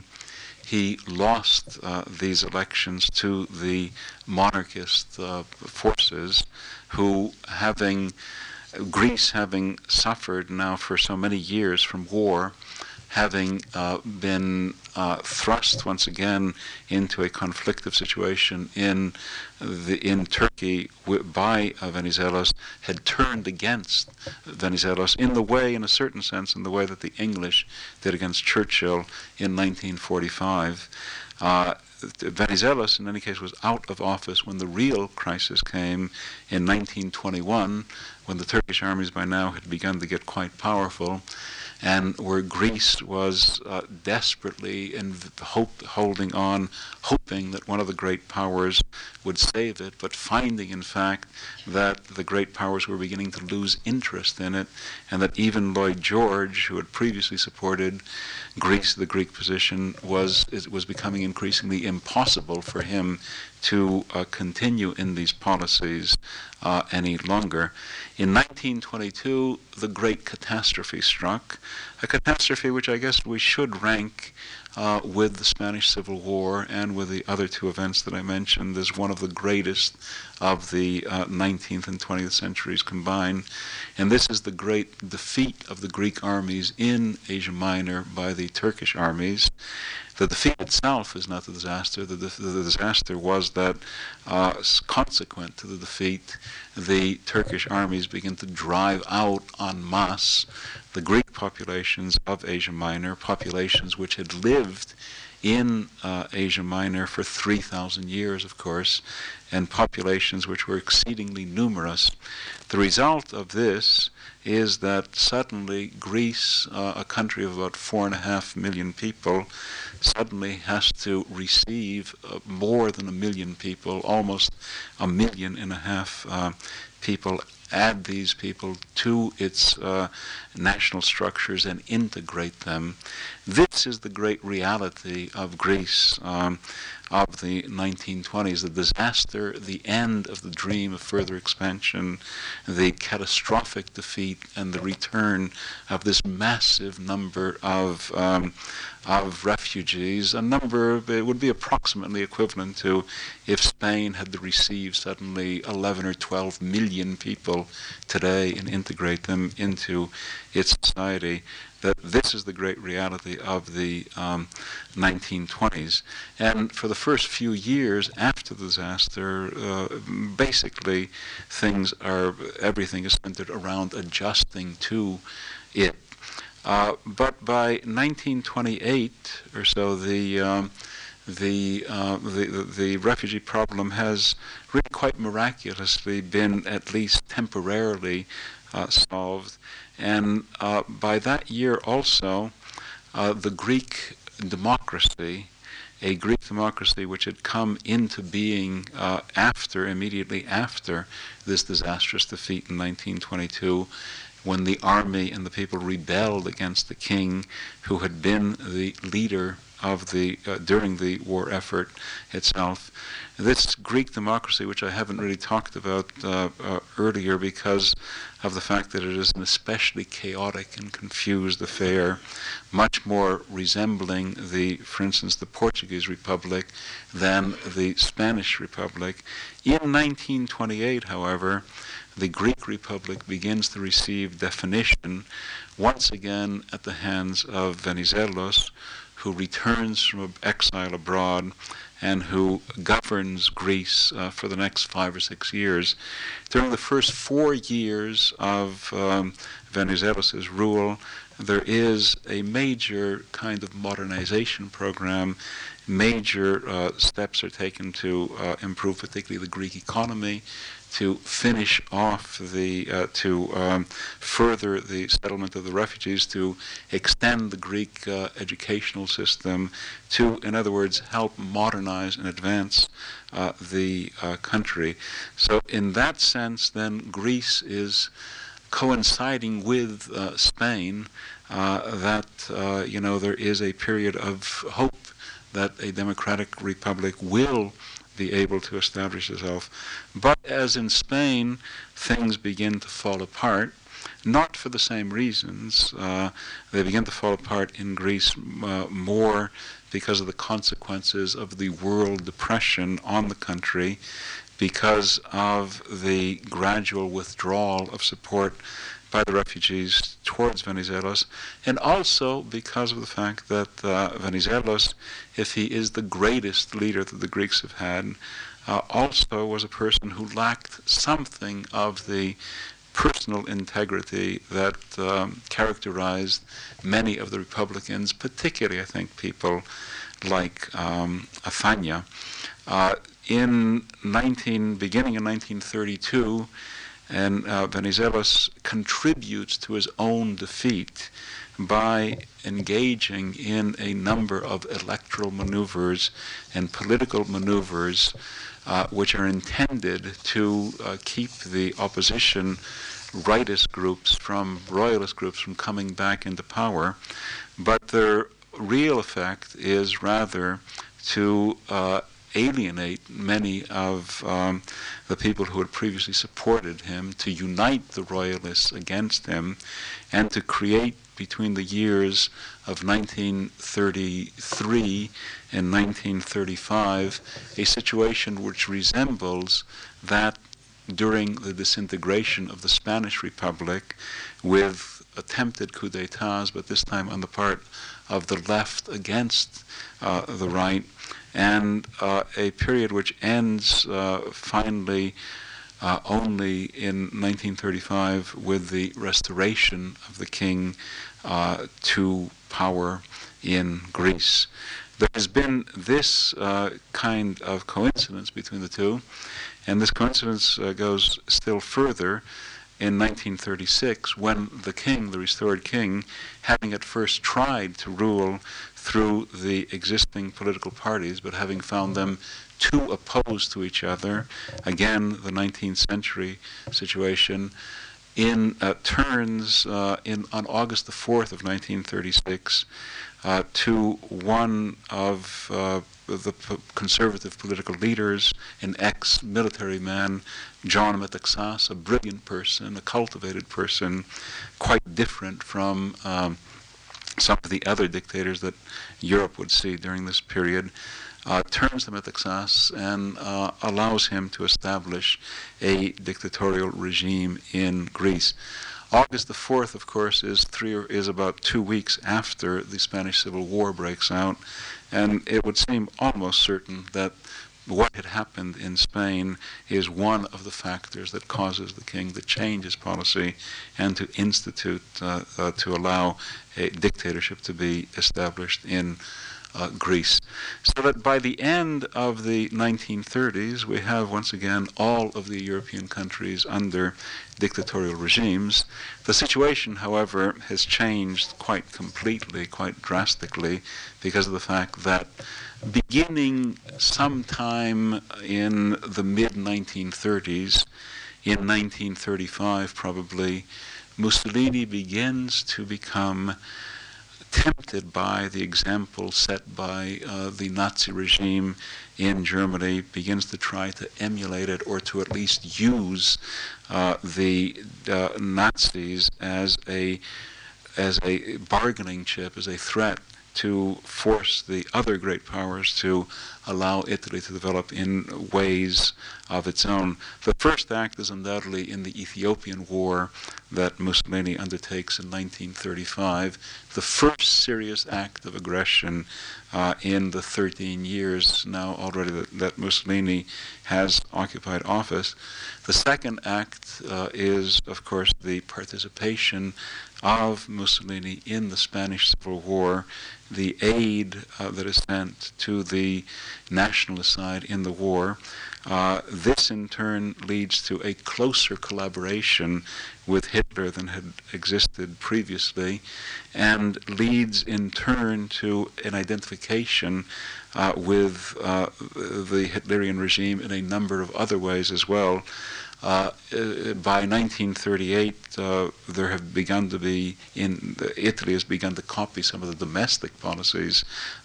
he lost uh, these elections to the monarchist uh, forces, who, having Greece having suffered now for so many years from war, having uh, been uh, thrust once again into a conflictive situation in the in Turkey w- by uh, Venizelos, had turned against Venizelos in the way, in a certain sense, in the way that the English did against Churchill in nineteen forty-five. Uh, Venizelos, in any case, was out of office when the real crisis came in nineteen twenty-one, when the Turkish armies by now had begun to get quite powerful, and where Greece was uh, desperately in hope, holding on, hoping that one of the great powers would save it, but finding, in fact, that the great powers were beginning to lose interest in it, and that even Lloyd George, who had previously supported Greece, the Greek position, was it was becoming increasingly impossible for him to uh, continue in these policies uh, any longer. In nineteen twenty-two, the great catastrophe struck, a catastrophe which I guess we should rank uh, with the Spanish Civil War and with the other two events that I mentioned as one of the greatest of the uh, nineteenth and twentieth centuries combined. And this is the great defeat of the Greek armies in Asia Minor by the Turkish armies. The defeat itself is not the disaster. The, the, the disaster was that, uh, consequent to the defeat, the Turkish armies begin to drive out en masse the Greek populations of Asia Minor, populations which had lived in uh, Asia Minor for three thousand years, of course, and populations which were exceedingly numerous. The result of this is that suddenly Greece, uh, a country of about four and a half million people, suddenly has to receive uh, more than a million people, almost a million and a half uh, people, add these people to its uh, national structures and integrate them. This is the great reality of Greece um, of the nineteen twenties, the disaster, the end of the dream of further expansion, the catastrophic defeat, and the return of this massive number of um, of refugees, a number, it would be approximately equivalent to if Spain had to receive suddenly eleven or twelve million people today and integrate them into its society. That this is the great reality of the um, nineteen twenties. And for the first few years after the disaster, uh, basically things are, everything is centered around adjusting to it. Uh, but by nineteen twenty-eight or so, the um, the, uh, the, the refugee problem has really quite miraculously been at least temporarily uh, solved. And uh, by that year also, uh, the Greek democracy, a Greek democracy which had come into being uh, after, immediately after this disastrous defeat in nineteen twenty-two, when the army and the people rebelled against the king who had been the leader of the uh, during the war effort itself. This Greek democracy, which I haven't really talked about uh, uh, earlier because of the fact that it is an especially chaotic and confused affair, much more resembling the, for instance, the Portuguese Republic than the Spanish Republic. In nineteen twenty-eight, however, the Greek Republic begins to receive definition once again at the hands of Venizelos, who returns from exile abroad and who governs Greece uh, for the next five or six years. During the first four years of um, Venizelos' rule, there is a major kind of modernization program. Major uh, steps are taken to uh, improve particularly the Greek economy, to finish off the, uh, to um, further the settlement of the refugees, to extend the Greek uh, educational system, to, in other words, help modernize and advance uh, the uh, country. So in that sense, then, Greece is coinciding with uh, Spain, uh, that, uh, you know, there is a period of hope that a democratic republic will be able to establish itself. But as in Spain, things begin to fall apart, not for the same reasons. Uh, they begin to fall apart in Greece uh, more because of the consequences of the world depression on the country, because of the gradual withdrawal of support by the refugees towards Venizelos, and also because of the fact that uh, Venizelos, if he is the greatest leader that the Greeks have had, uh, also was a person who lacked something of the personal integrity that um, characterized many of the Republicans, particularly, I think, people like um, Athania. Uh, in nineteen, beginning in nineteen thirty-two, and uh, Venizelos contributes to his own defeat by engaging in a number of electoral maneuvers and political maneuvers uh, which are intended to uh, keep the opposition rightist groups from, royalist groups from coming back into power. But their real effect is rather to uh, alienate many of um, the people who had previously supported him, to unite the royalists against him, and to create between the years of nineteen thirty-three and nineteen thirty-five a situation which resembles that during the disintegration of the Spanish Republic, with attempted coups d'etats, but this time on the part of the left against uh, the right, and uh, a period which ends uh, finally uh, only in nineteen thirty-five with the restoration of the king uh, to power in Greece. There has been this uh, kind of coincidence between the two, and this coincidence uh, goes still further in nineteen thirty-six, when the king, the restored king, having at first tried to rule through the existing political parties, but having found them too opposed to each other, again, the nineteenth century situation, in uh, turns uh, in on August the fourth of nineteen thirty-six uh, to one of uh, the p- conservative political leaders, an ex-military man, John Metaxas, a brilliant person, a cultivated person, quite different from um, some of the other dictators that Europe would see during this period, uh, turns to Metaxas and uh, allows him to establish a dictatorial regime in Greece. August the fourth, of course, is three or is about two weeks after the Spanish Civil War breaks out, and it would seem almost certain that what had happened in Spain is one of the factors that causes the king to change his policy and to institute, uh, uh, to allow a dictatorship to be established in uh, Greece. So that by the end of the nineteen thirties, we have once again all of the European countries under dictatorial regimes. The situation, however, has changed quite completely, quite drastically, because of the fact that beginning sometime in the mid nineteen thirties, in nineteen thirty-five probably, Mussolini begins to become tempted by the example set by uh, the Nazi regime in Germany, begins to try to emulate it or to at least use uh, the uh, Nazis as a as a bargaining chip, as a threat to force the other great powers to allow Italy to develop in ways of its own. The first act is undoubtedly in the Ethiopian War that Mussolini undertakes in nineteen thirty-five, the first serious act of aggression uh, in the thirteen years now already that, that Mussolini has occupied office. The second act uh, is, of course, the participation of Mussolini in the Spanish Civil War, the aid uh, that is sent to the nationalist side in the war. Uh, this in turn leads to a closer collaboration with Hitler than had existed previously, and leads in turn to an identification uh, with uh, the Hitlerian regime in a number of other ways as well. Uh, uh, by nineteen thirty-eight, uh, there have begun to be, in the, Italy has begun to copy some of the domestic policies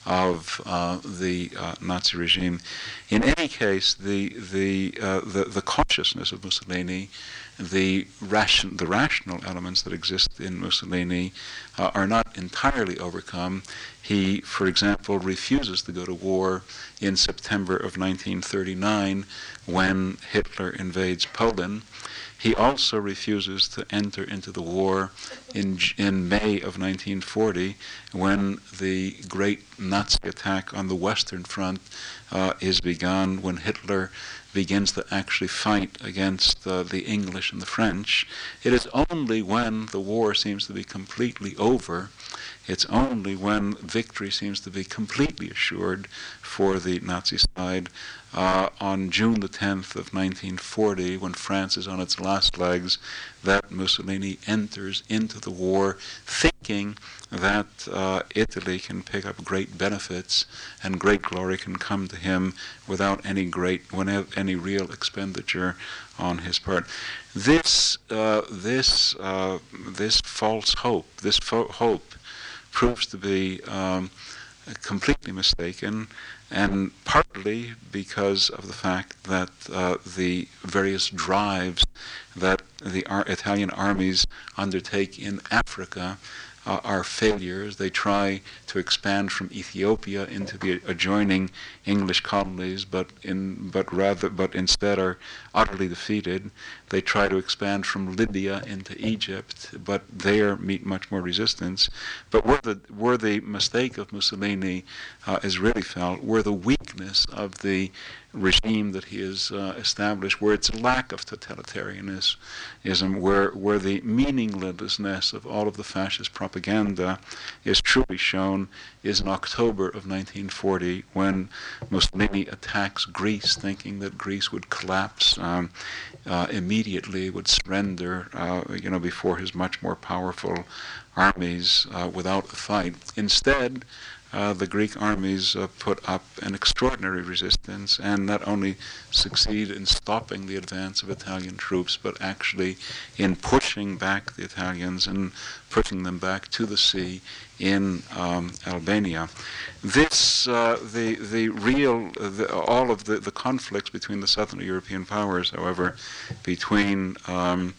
of uh, the uh, Nazi regime. In any case, the the uh, the, the consciousness of Mussolini, the ration, the rational elements that exist in Mussolini, uh, are not entirely overcome. He, for example, refuses to go to war in September of nineteen thirty-nine when Hitler invades Poland. He also refuses to enter into the war in, in May of nineteen forty when the great Nazi attack on the Western Front uh, is begun, when Hitler begins to actually fight against uh, the English and the French. It is only when the war seems to be completely over, it's only when victory seems to be completely assured for the Nazi side, uh, on June the tenth of nineteen forty, when France is on its last legs, that Mussolini enters into the war thinking that uh, Italy can pick up great benefits and great glory can come to him without any great, whenever, any real expenditure on his part. This, uh, this, uh, this false hope, this fo- hope proves to be um, completely mistaken, and partly because of the fact that uh, the various drives that the ar- Italian armies undertake in Africa uh, are failures. They try to expand from Ethiopia into the adjoining English colonies, but in but rather but instead are utterly defeated. They try to expand from Libya into Egypt, but there meet much more resistance. But where the where the mistake of Mussolini uh, is really felt, where the weakness of the regime that he has uh, established, where its lack of totalitarianism, where where the meaninglessness of all of the fascist propaganda is truly shown, is in October of nineteen forty, when Mussolini attacks Greece, thinking that Greece would collapse um, uh, immediately, would surrender, uh, you know, before his much more powerful armies uh, without a fight. Instead, Uh, the Greek armies uh, put up an extraordinary resistance and not only succeed in stopping the advance of Italian troops, but actually in pushing back the Italians and pushing them back to the sea in um, Albania. This, uh, the the real, uh, the, all of the, the conflicts between the Southern European powers, however, between um,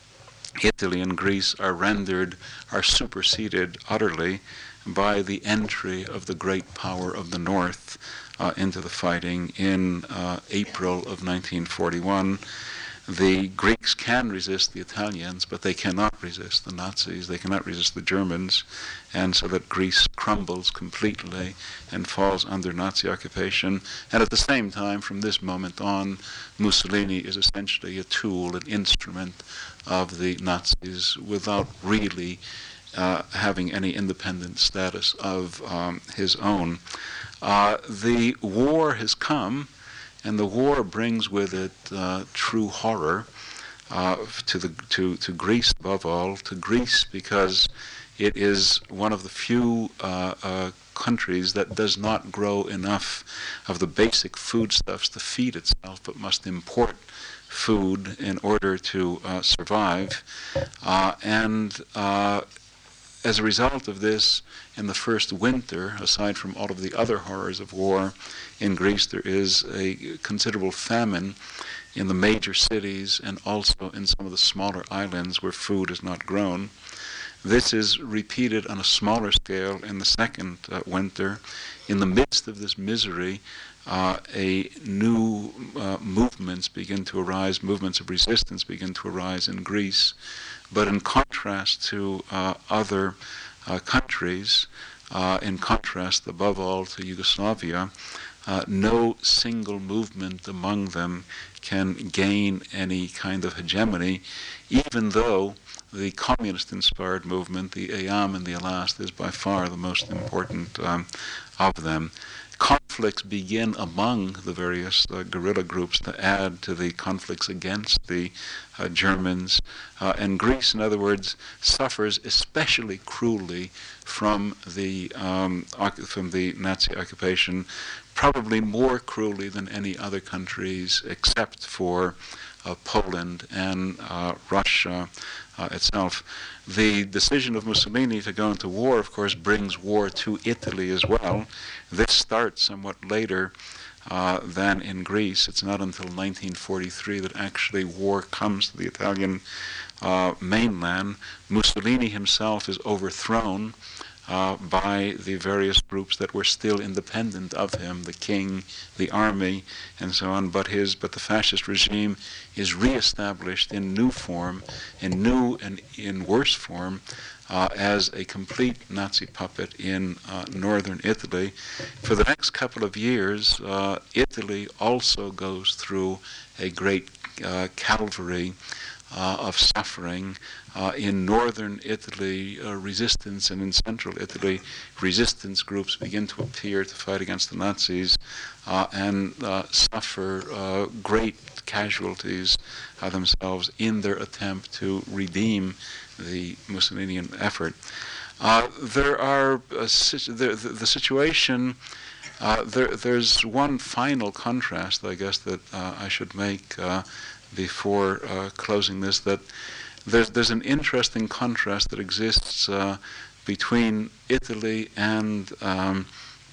Italy and Greece are rendered, are superseded utterly by the entry of the great power of the North uh, into the fighting in uh, April of nineteen forty-one. The Greeks can resist the Italians, but they cannot resist the Nazis, they cannot resist the Germans, and so that Greece crumbles completely and falls under Nazi occupation. And at the same time, from this moment on, Mussolini is essentially a tool, an instrument of the Nazis without really uh, having any independent status of um, his own. Uh, the war has come, and the war brings with it uh, true horror uh, to the to to Greece above all, to Greece because it is one of the few uh, uh, countries that does not grow enough of the basic foodstuffs to feed itself, but must import food in order to uh, survive. Uh, and uh, as a result of this, in the first winter, aside from all of the other horrors of war, in Greece there is a considerable famine in the major cities and also in some of the smaller islands where food is not grown. This is repeated on a smaller scale in the second uh, winter. In the midst of this misery, uh, a new uh, movements begin to arise, movements of resistance begin to arise in Greece. But in contrast to uh, other uh, countries, uh, in contrast above all to Yugoslavia, uh, no single movement among them can gain any kind of hegemony, even though the communist-inspired movement, the Eyam and the Elast, is by far the most important um, of them. Conflicts begin among the various uh, guerrilla groups to add to the conflicts against the uh, Germans. Uh, and Greece, in other words, suffers especially cruelly from the, um, from the Nazi occupation, probably more cruelly than any other countries except for uh, Poland and uh, Russia uh, itself. The decision of Mussolini to go into war, of course, brings war to Italy as well. This starts somewhat later uh, than in Greece. It's not until nineteen forty-three that actually war comes to the Italian uh, mainland. Mussolini himself is overthrown uh, by the various groups that were still independent of him, the king, the army, and so on. But his, but the fascist regime is reestablished in new form, in new and in worse form, uh, as a complete Nazi puppet in uh, northern Italy. For the next couple of years, uh, Italy also goes through a great uh, calvary uh, of suffering. Uh, in northern Italy, uh, resistance, and in central Italy, resistance groups begin to appear to fight against the Nazis uh, and uh, suffer uh, great casualties uh, themselves in their attempt to redeem the Mussolinian effort. Uh, there are uh, si- the, the, the situation. Uh, there, there's one final contrast, I guess, that uh, I should make uh, before uh, closing this. That There's, there's an interesting contrast that exists uh, between Italy and um,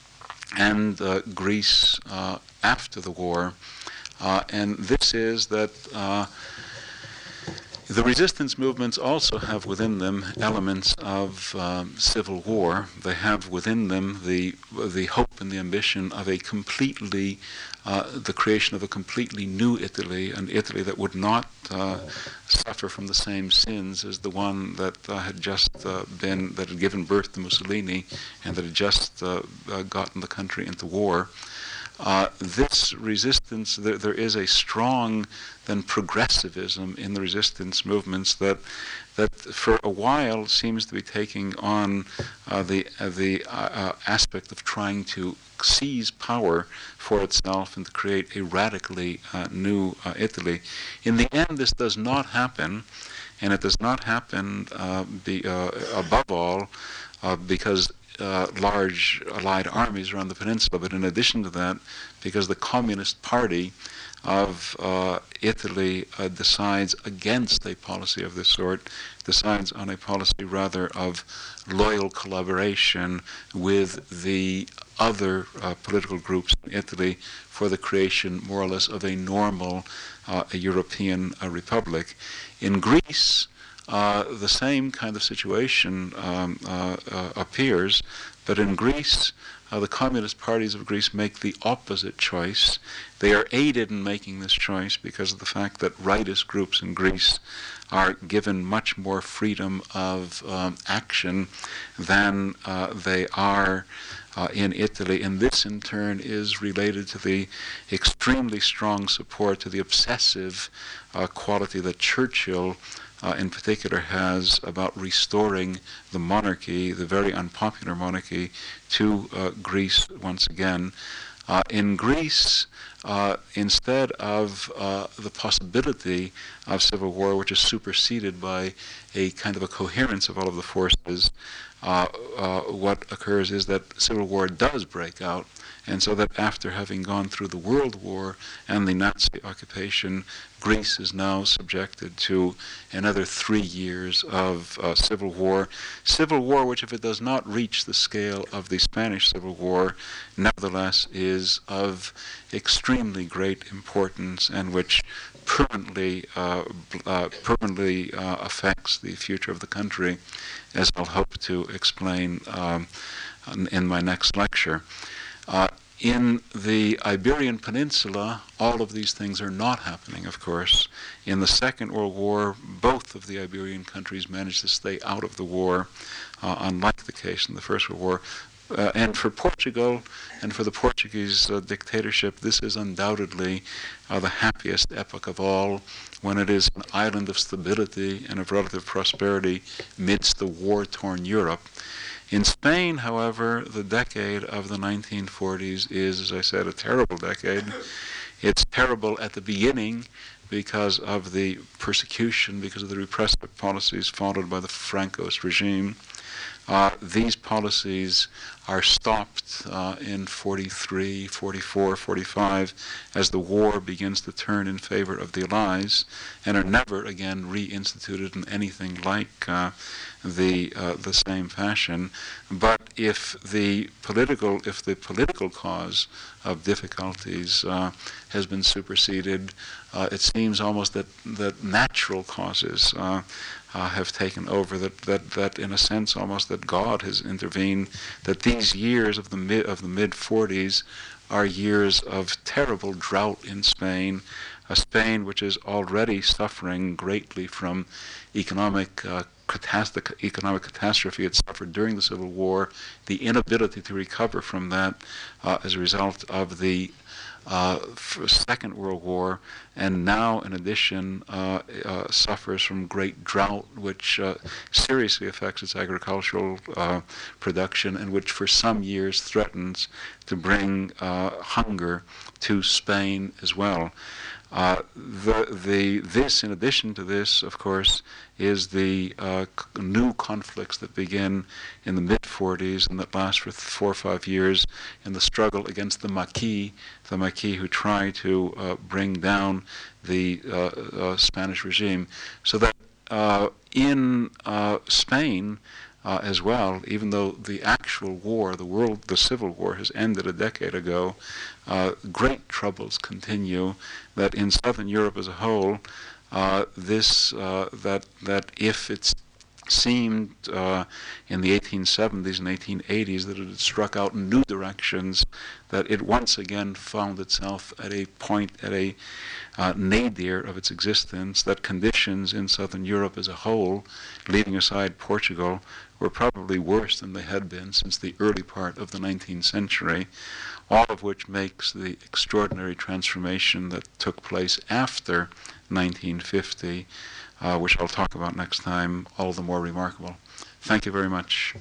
and uh, Greece uh, after the war, uh, and this is that uh, the resistance movements also have within them elements of um, civil war. They have within them the the hope and the ambition of a completely Uh, the creation of a completely new Italy, an Italy that would not uh, suffer from the same sins as the one that uh, had just uh, been, that had given birth to Mussolini and that had just uh, uh, gotten the country into war. Uh, this resistance, there, there is a strong then progressivism in the resistance movements that that for a while seems to be taking on uh, the uh, the uh, uh, aspect of trying to seize power for itself and to create a radically uh, new uh, Italy. In the end, this does not happen, and it does not happen uh, be, uh, above all uh, because uh, large allied armies are on the peninsula, but in addition to that, because the Communist Party of uh, Italy uh, decides against a policy of this sort, decides on a policy rather of loyal collaboration with the other uh, political groups in Italy for the creation, more or less, of a normal uh, a European uh, republic. In Greece, uh, the same kind of situation um, uh, uh, appears, but in Greece, Uh, the communist parties of Greece make the opposite choice. They are aided in making this choice because of the fact that rightist groups in Greece are given much more freedom of um, action than uh, they are uh, in Italy. And this, in turn, is related to the extremely strong support, to the obsessive uh, quality that Churchill uh, in particular has about restoring the monarchy, the very unpopular monarchy, to uh, Greece once again. Uh, in Greece, uh, instead of uh, the possibility of civil war, which is superseded by a kind of a coherence of all of the forces, uh, uh, what occurs is that civil war does break out, and so that after having gone through the World War and the Nazi occupation, Greece is now subjected to another three years of uh, civil war. Civil war which, if it does not reach the scale of the Spanish Civil War, nevertheless is of extremely great importance and which permanently, uh, uh, permanently uh, affects the future of the country, as I'll hope to explain um, in my next lecture. Uh, in the Iberian Peninsula, all of these things are not happening, of course. In the Second World War, both of the Iberian countries managed to stay out of the war, uh, unlike the case in the First World War. Uh, and for Portugal and for the Portuguese uh, dictatorship, this is undoubtedly uh, the happiest epoch of all, when it is an island of stability and of relative prosperity midst the war-torn Europe. In Spain, however, the decade of the nineteen forties is, as I said, a terrible decade. It's terrible at the beginning because of the persecution, because of the repressive policies followed by the Francoist regime. Uh, these policies are stopped uh, in forty-three, forty-four, forty-five as the war begins to turn in favor of the Allies, and are never again reinstituted in anything like uh, the uh, the same fashion. But if the political if the political cause of difficulties uh, has been superseded, uh, it seems almost that that natural causes Uh, Uh, have taken over, that, that, that in a sense almost that God has intervened, that these years of the mid of the mid forties are years of terrible drought in Spain, a Spain which is already suffering greatly from economic uh, catastrophe, economic catastrophe it suffered during the Civil War, the inability to recover from that uh, as a result of the Uh, Second World War, and now, in addition, uh, uh, suffers from great drought, which uh, seriously affects its agricultural uh, production, and which for some years threatens to bring uh, hunger to Spain as well. Uh, the, the, this, in addition to this, of course, is the uh, c- new conflicts that begin in the mid forties and that last for th- four or five years in the struggle against the Maquis, the Maquis who try to uh, bring down the uh, uh, Spanish regime. So that uh, in uh, Spain, Uh, as well, even though the actual war, the world, the Civil War has ended a decade ago, uh, great troubles continue, that in Southern Europe as a whole, uh, this, uh, that, that if it's seemed uh, in the eighteen seventies and eighteen eighties that it had struck out in new directions, that it once again found itself at a point, at a uh, nadir of its existence, that conditions in Southern Europe as a whole, leaving aside Portugal, were probably worse than they had been since the early part of the nineteenth century, all of which makes the extraordinary transformation that took place after nineteen fifty, uh, which I'll talk about next time, all the more remarkable. Thank you very much.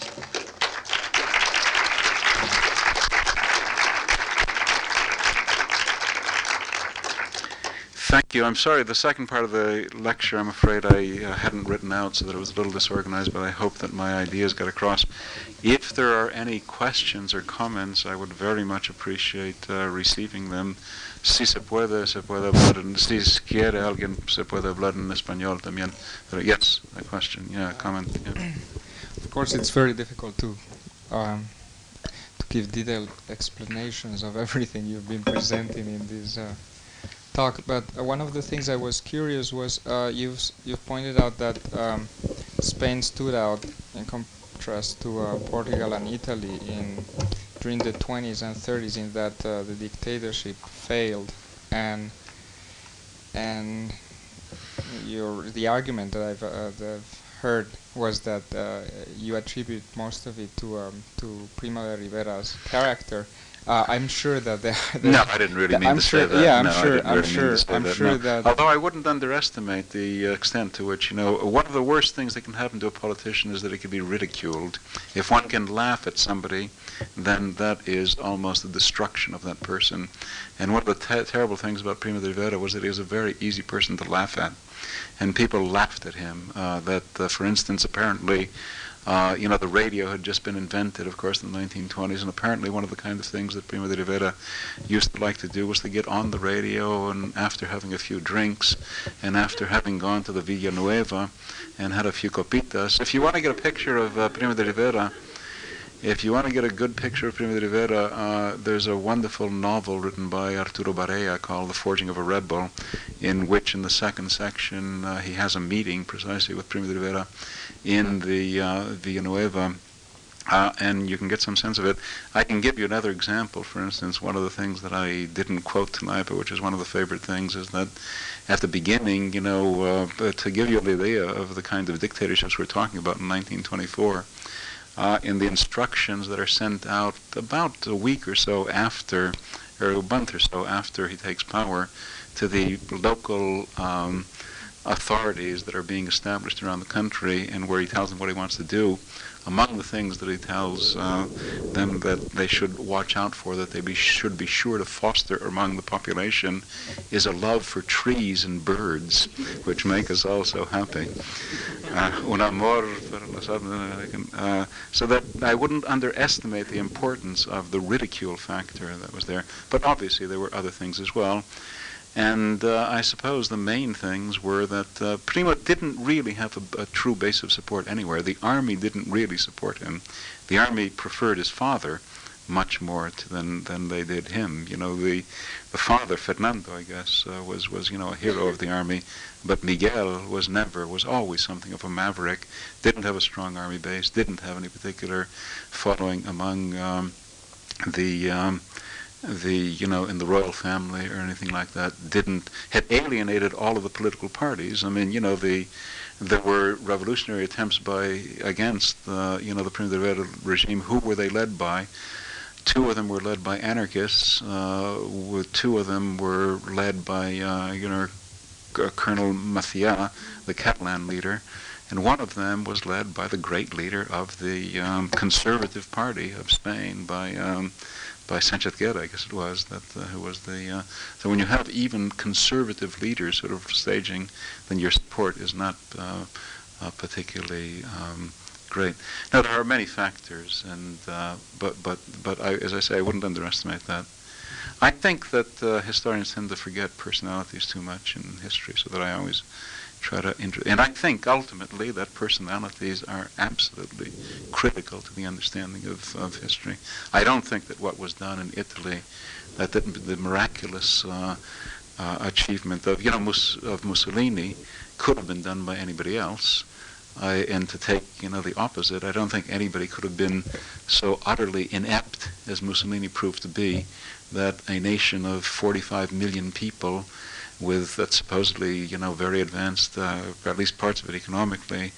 Thank you. I'm sorry, the second part of the lecture, I'm afraid I uh, hadn't written out, so that it was a little disorganized, but I hope that my ideas got across. If there are any questions or comments, I would very much appreciate uh, receiving them. Si se puede, se puede hablar en, si quiere alguien, se puede hablar en español también. But yes, a question, yeah, a comment. Yeah. Of course, it's very difficult to um, to give detailed explanations of everything you've been presenting in this uh, talk, but uh, one of the things I was curious was uh, you've you've pointed out that um, Spain stood out in contrast to uh, Portugal and Italy in during the twenties and thirties in that uh, the dictatorship failed, and and your the argument that I've, uh, that I've heard was that uh, you attribute most of it to um, to Primo de Rivera's character. Uh, I'm sure that they. No, I didn't really mean I'm to sure, say that. Yeah, I'm no, sure. I didn't I'm really sure. mean to say I'm that. sure no. that. Although I wouldn't underestimate the uh, extent to which, you know, one of the worst things that can happen to a politician is that he can be ridiculed. If one can laugh at somebody, then that is almost the destruction of that person. And one of the te- terrible things about Primo de Rivera was that he was a very easy person to laugh at, and people laughed at him. Uh, that, uh, for instance, apparently. Uh, you know, the radio had just been invented, of course, in the nineteen twenties, and apparently one of the kind of things that Primo de Rivera used to like to do was to get on the radio, and after having a few drinks, and after having gone to the Villanueva and had a few copitas. If you want to get a picture of uh, Primo de Rivera, if you want to get a good picture of Primo de Rivera, uh, there's a wonderful novel written by Arturo Barea called The Forging of a Rebel, in which in the second section uh, he has a meeting precisely with Primo de Rivera in the uh, Villanueva, uh, and you can get some sense of it. I can give you another example. For instance, one of the things that I didn't quote tonight, but which is one of the favorite things, is that at the beginning, you know, uh, to give you an idea of the kind of dictatorships we're talking about in nineteen twenty-four, uh, in the instructions that are sent out about a week or so after, or a month or so after he takes power, to the local um, authorities that are being established around the country, and where he tells them what he wants to do, among the things that he tells uh, them that they should watch out for, that they be, should be sure to foster among the population, is a love for trees and birds, which make us all so happy. Uh, un amor per los árboles. Uh, so that I wouldn't underestimate the importance of the ridicule factor that was there. But obviously there were other things as well. And uh, I suppose the main things were that uh, Primo didn't really have a, a true base of support anywhere. The army didn't really support him. The army preferred his father much more to, than than they did him. You know, the the father, Fernando, I guess, uh, was was you know a hero of the army, but Miguel was never, was always something of a maverick. Didn't have a strong army base. Didn't have any particular following among um, the. Um, the, you know, in the royal family or anything like that, didn't, had alienated all of the political parties. I mean, you know, the, there were revolutionary attempts by, against, uh, you know, the Primo de Rivera regime. Who were they led by? Two of them were led by anarchists. Uh, with two of them were led by, uh, you know, Colonel Macià, the Catalan leader. And one of them was led by the great leader of the um, Conservative Party of Spain, by um, by Sanchez Guerra, I guess it was, that uh, who was the. Uh, so when you have even conservative leaders sort of staging, then your support is not uh, uh, particularly um, great. Now there are many factors, and uh, but but but I, as I say, I wouldn't underestimate that. I think that uh, historians tend to forget personalities too much in history, so that I always try to inter- and I think ultimately that personalities are absolutely critical to the understanding of, of history. I don't think that what was done in Italy, that the, the miraculous uh, uh, achievement of, you know, Mus- of Mussolini could have been done by anybody else. I, and to take, you know, the opposite, I don't think anybody could have been so utterly inept as Mussolini proved to be, that a nation of forty-five million people with that supposedly, you know, very advanced, uh, or at least parts of it economically,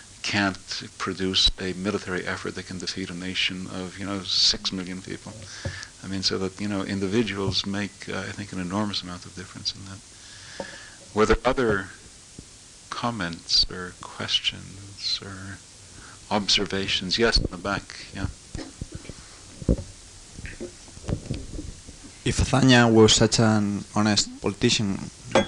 can't produce a military effort that can defeat a nation of, you know, six million people. I mean, so that, you know, individuals make, uh, I think, an enormous amount of difference in that. Were there other comments or questions or observations? Yes, in the back, yeah. If Azaña was such an honest politician...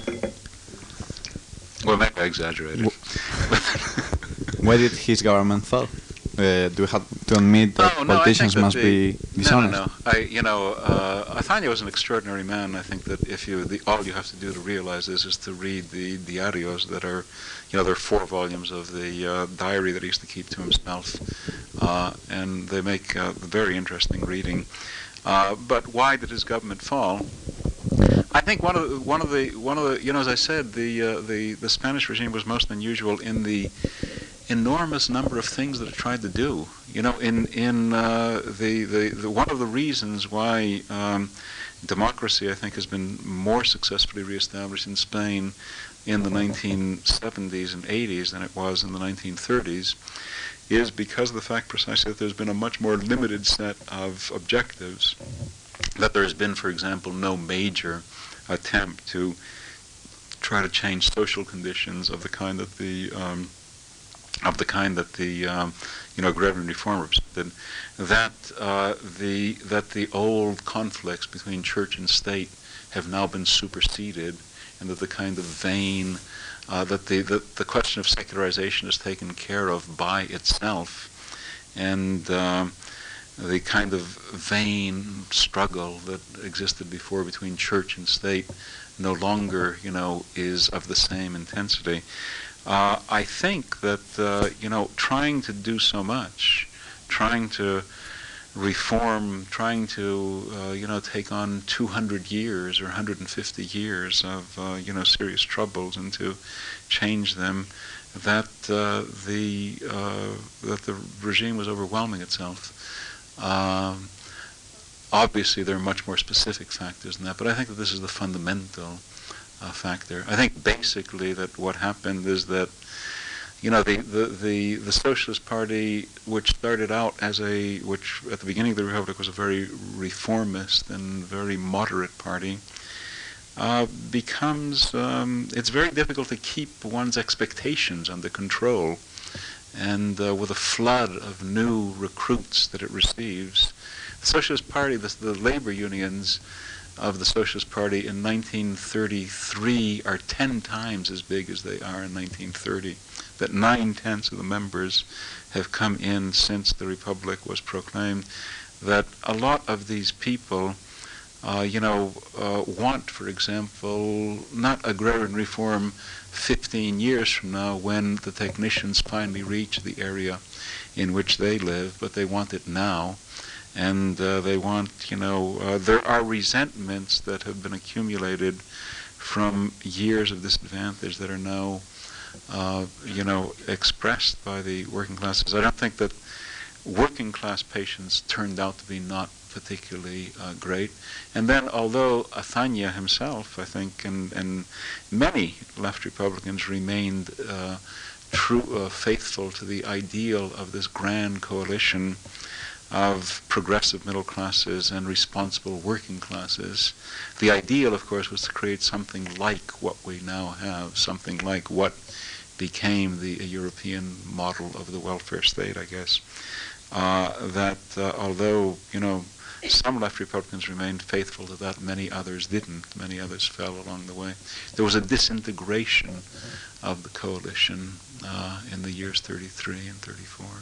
Well, maybe I exaggerated. Why did his government fall? Uh, do we have to admit that no, no, politicians that must the, be dishonest? No, no, no. I, you know, uh, Azaña was an extraordinary man. I think that if you, the, all you have to do to realize this is to read the diarios that are, you know, there are four volumes of the uh, diary that he used to keep to himself, uh, and they make uh, very interesting reading. Uh, but why did his government fall? I think one of the, one of the one of the you know, as I said, the uh, the the Spanish regime was most unusual in the enormous number of things that it tried to do. You know, in in uh, the, the the one of the reasons why um, democracy, I think, has been more successfully reestablished in Spain in the nineteen seventies and eighties than it was in the nineteen thirties, is because of the fact precisely that there's been a much more limited set of objectives that there has been, for example, no major attempt to try to change social conditions of the kind that the um, of the kind that the um, you know agrarian reform represented. That uh, the that the old conflicts between church and state have now been superseded, and that the kind of vain uh, that the, the the question of secularization is taken care of by itself, and um, the kind of vain struggle that existed before between church and state no longer, you know, is of the same intensity. Uh, I think that, uh, you know, trying to do so much, trying to reform, trying to, uh, you know, take on two hundred years or one hundred fifty years of, uh, you know, serious troubles and to change them, that uh, the uh, that the regime was overwhelming itself. Um, obviously, there are much more specific factors than that, but I think that this is the fundamental uh, factor. I think basically that what happened is that, you know, the, the, the, the Socialist Party, which started out as a, which at the beginning of the Republic was a very reformist and very moderate party, uh, becomes, um, it's very difficult to keep one's expectations under control. And uh, with a flood of new recruits that it receives, the Socialist Party, the, the labor unions of the Socialist Party in nineteen thirty-three are ten times as big as they are in nineteen thirty. That nine-tenths of the members have come in since the Republic was proclaimed. That a lot of these people, uh, you know, uh, want, for example, not agrarian reform fifteen years from now when the technicians finally reach the area in which they live, but they want it now. And uh, they want, you know, uh, there are resentments that have been accumulated from years of disadvantage that are now, uh, you know, expressed by the working classes. I don't think that working class patients turned out to be not particularly uh, great. And then, although Azaña himself, I think, and, and many left Republicans remained uh, true, uh, faithful to the ideal of this grand coalition of progressive middle classes and responsible working classes. The ideal, of course, was to create something like what we now have, something like what became the uh, European model of the welfare state, I guess. Uh, that uh, although, you know, some left Republicans remained faithful to that, many others didn't. Many others fell along the way. There was a disintegration of the coalition uh, in the years thirty-three and thirty-four.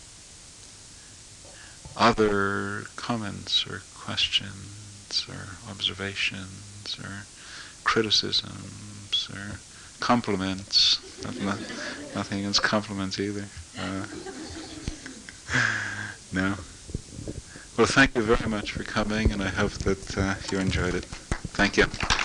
Other comments or questions or observations or criticisms or compliments? Not, nothing against compliments either. Uh, no? Well, thank you very much for coming, and I hope that uh, you enjoyed it. Thank you.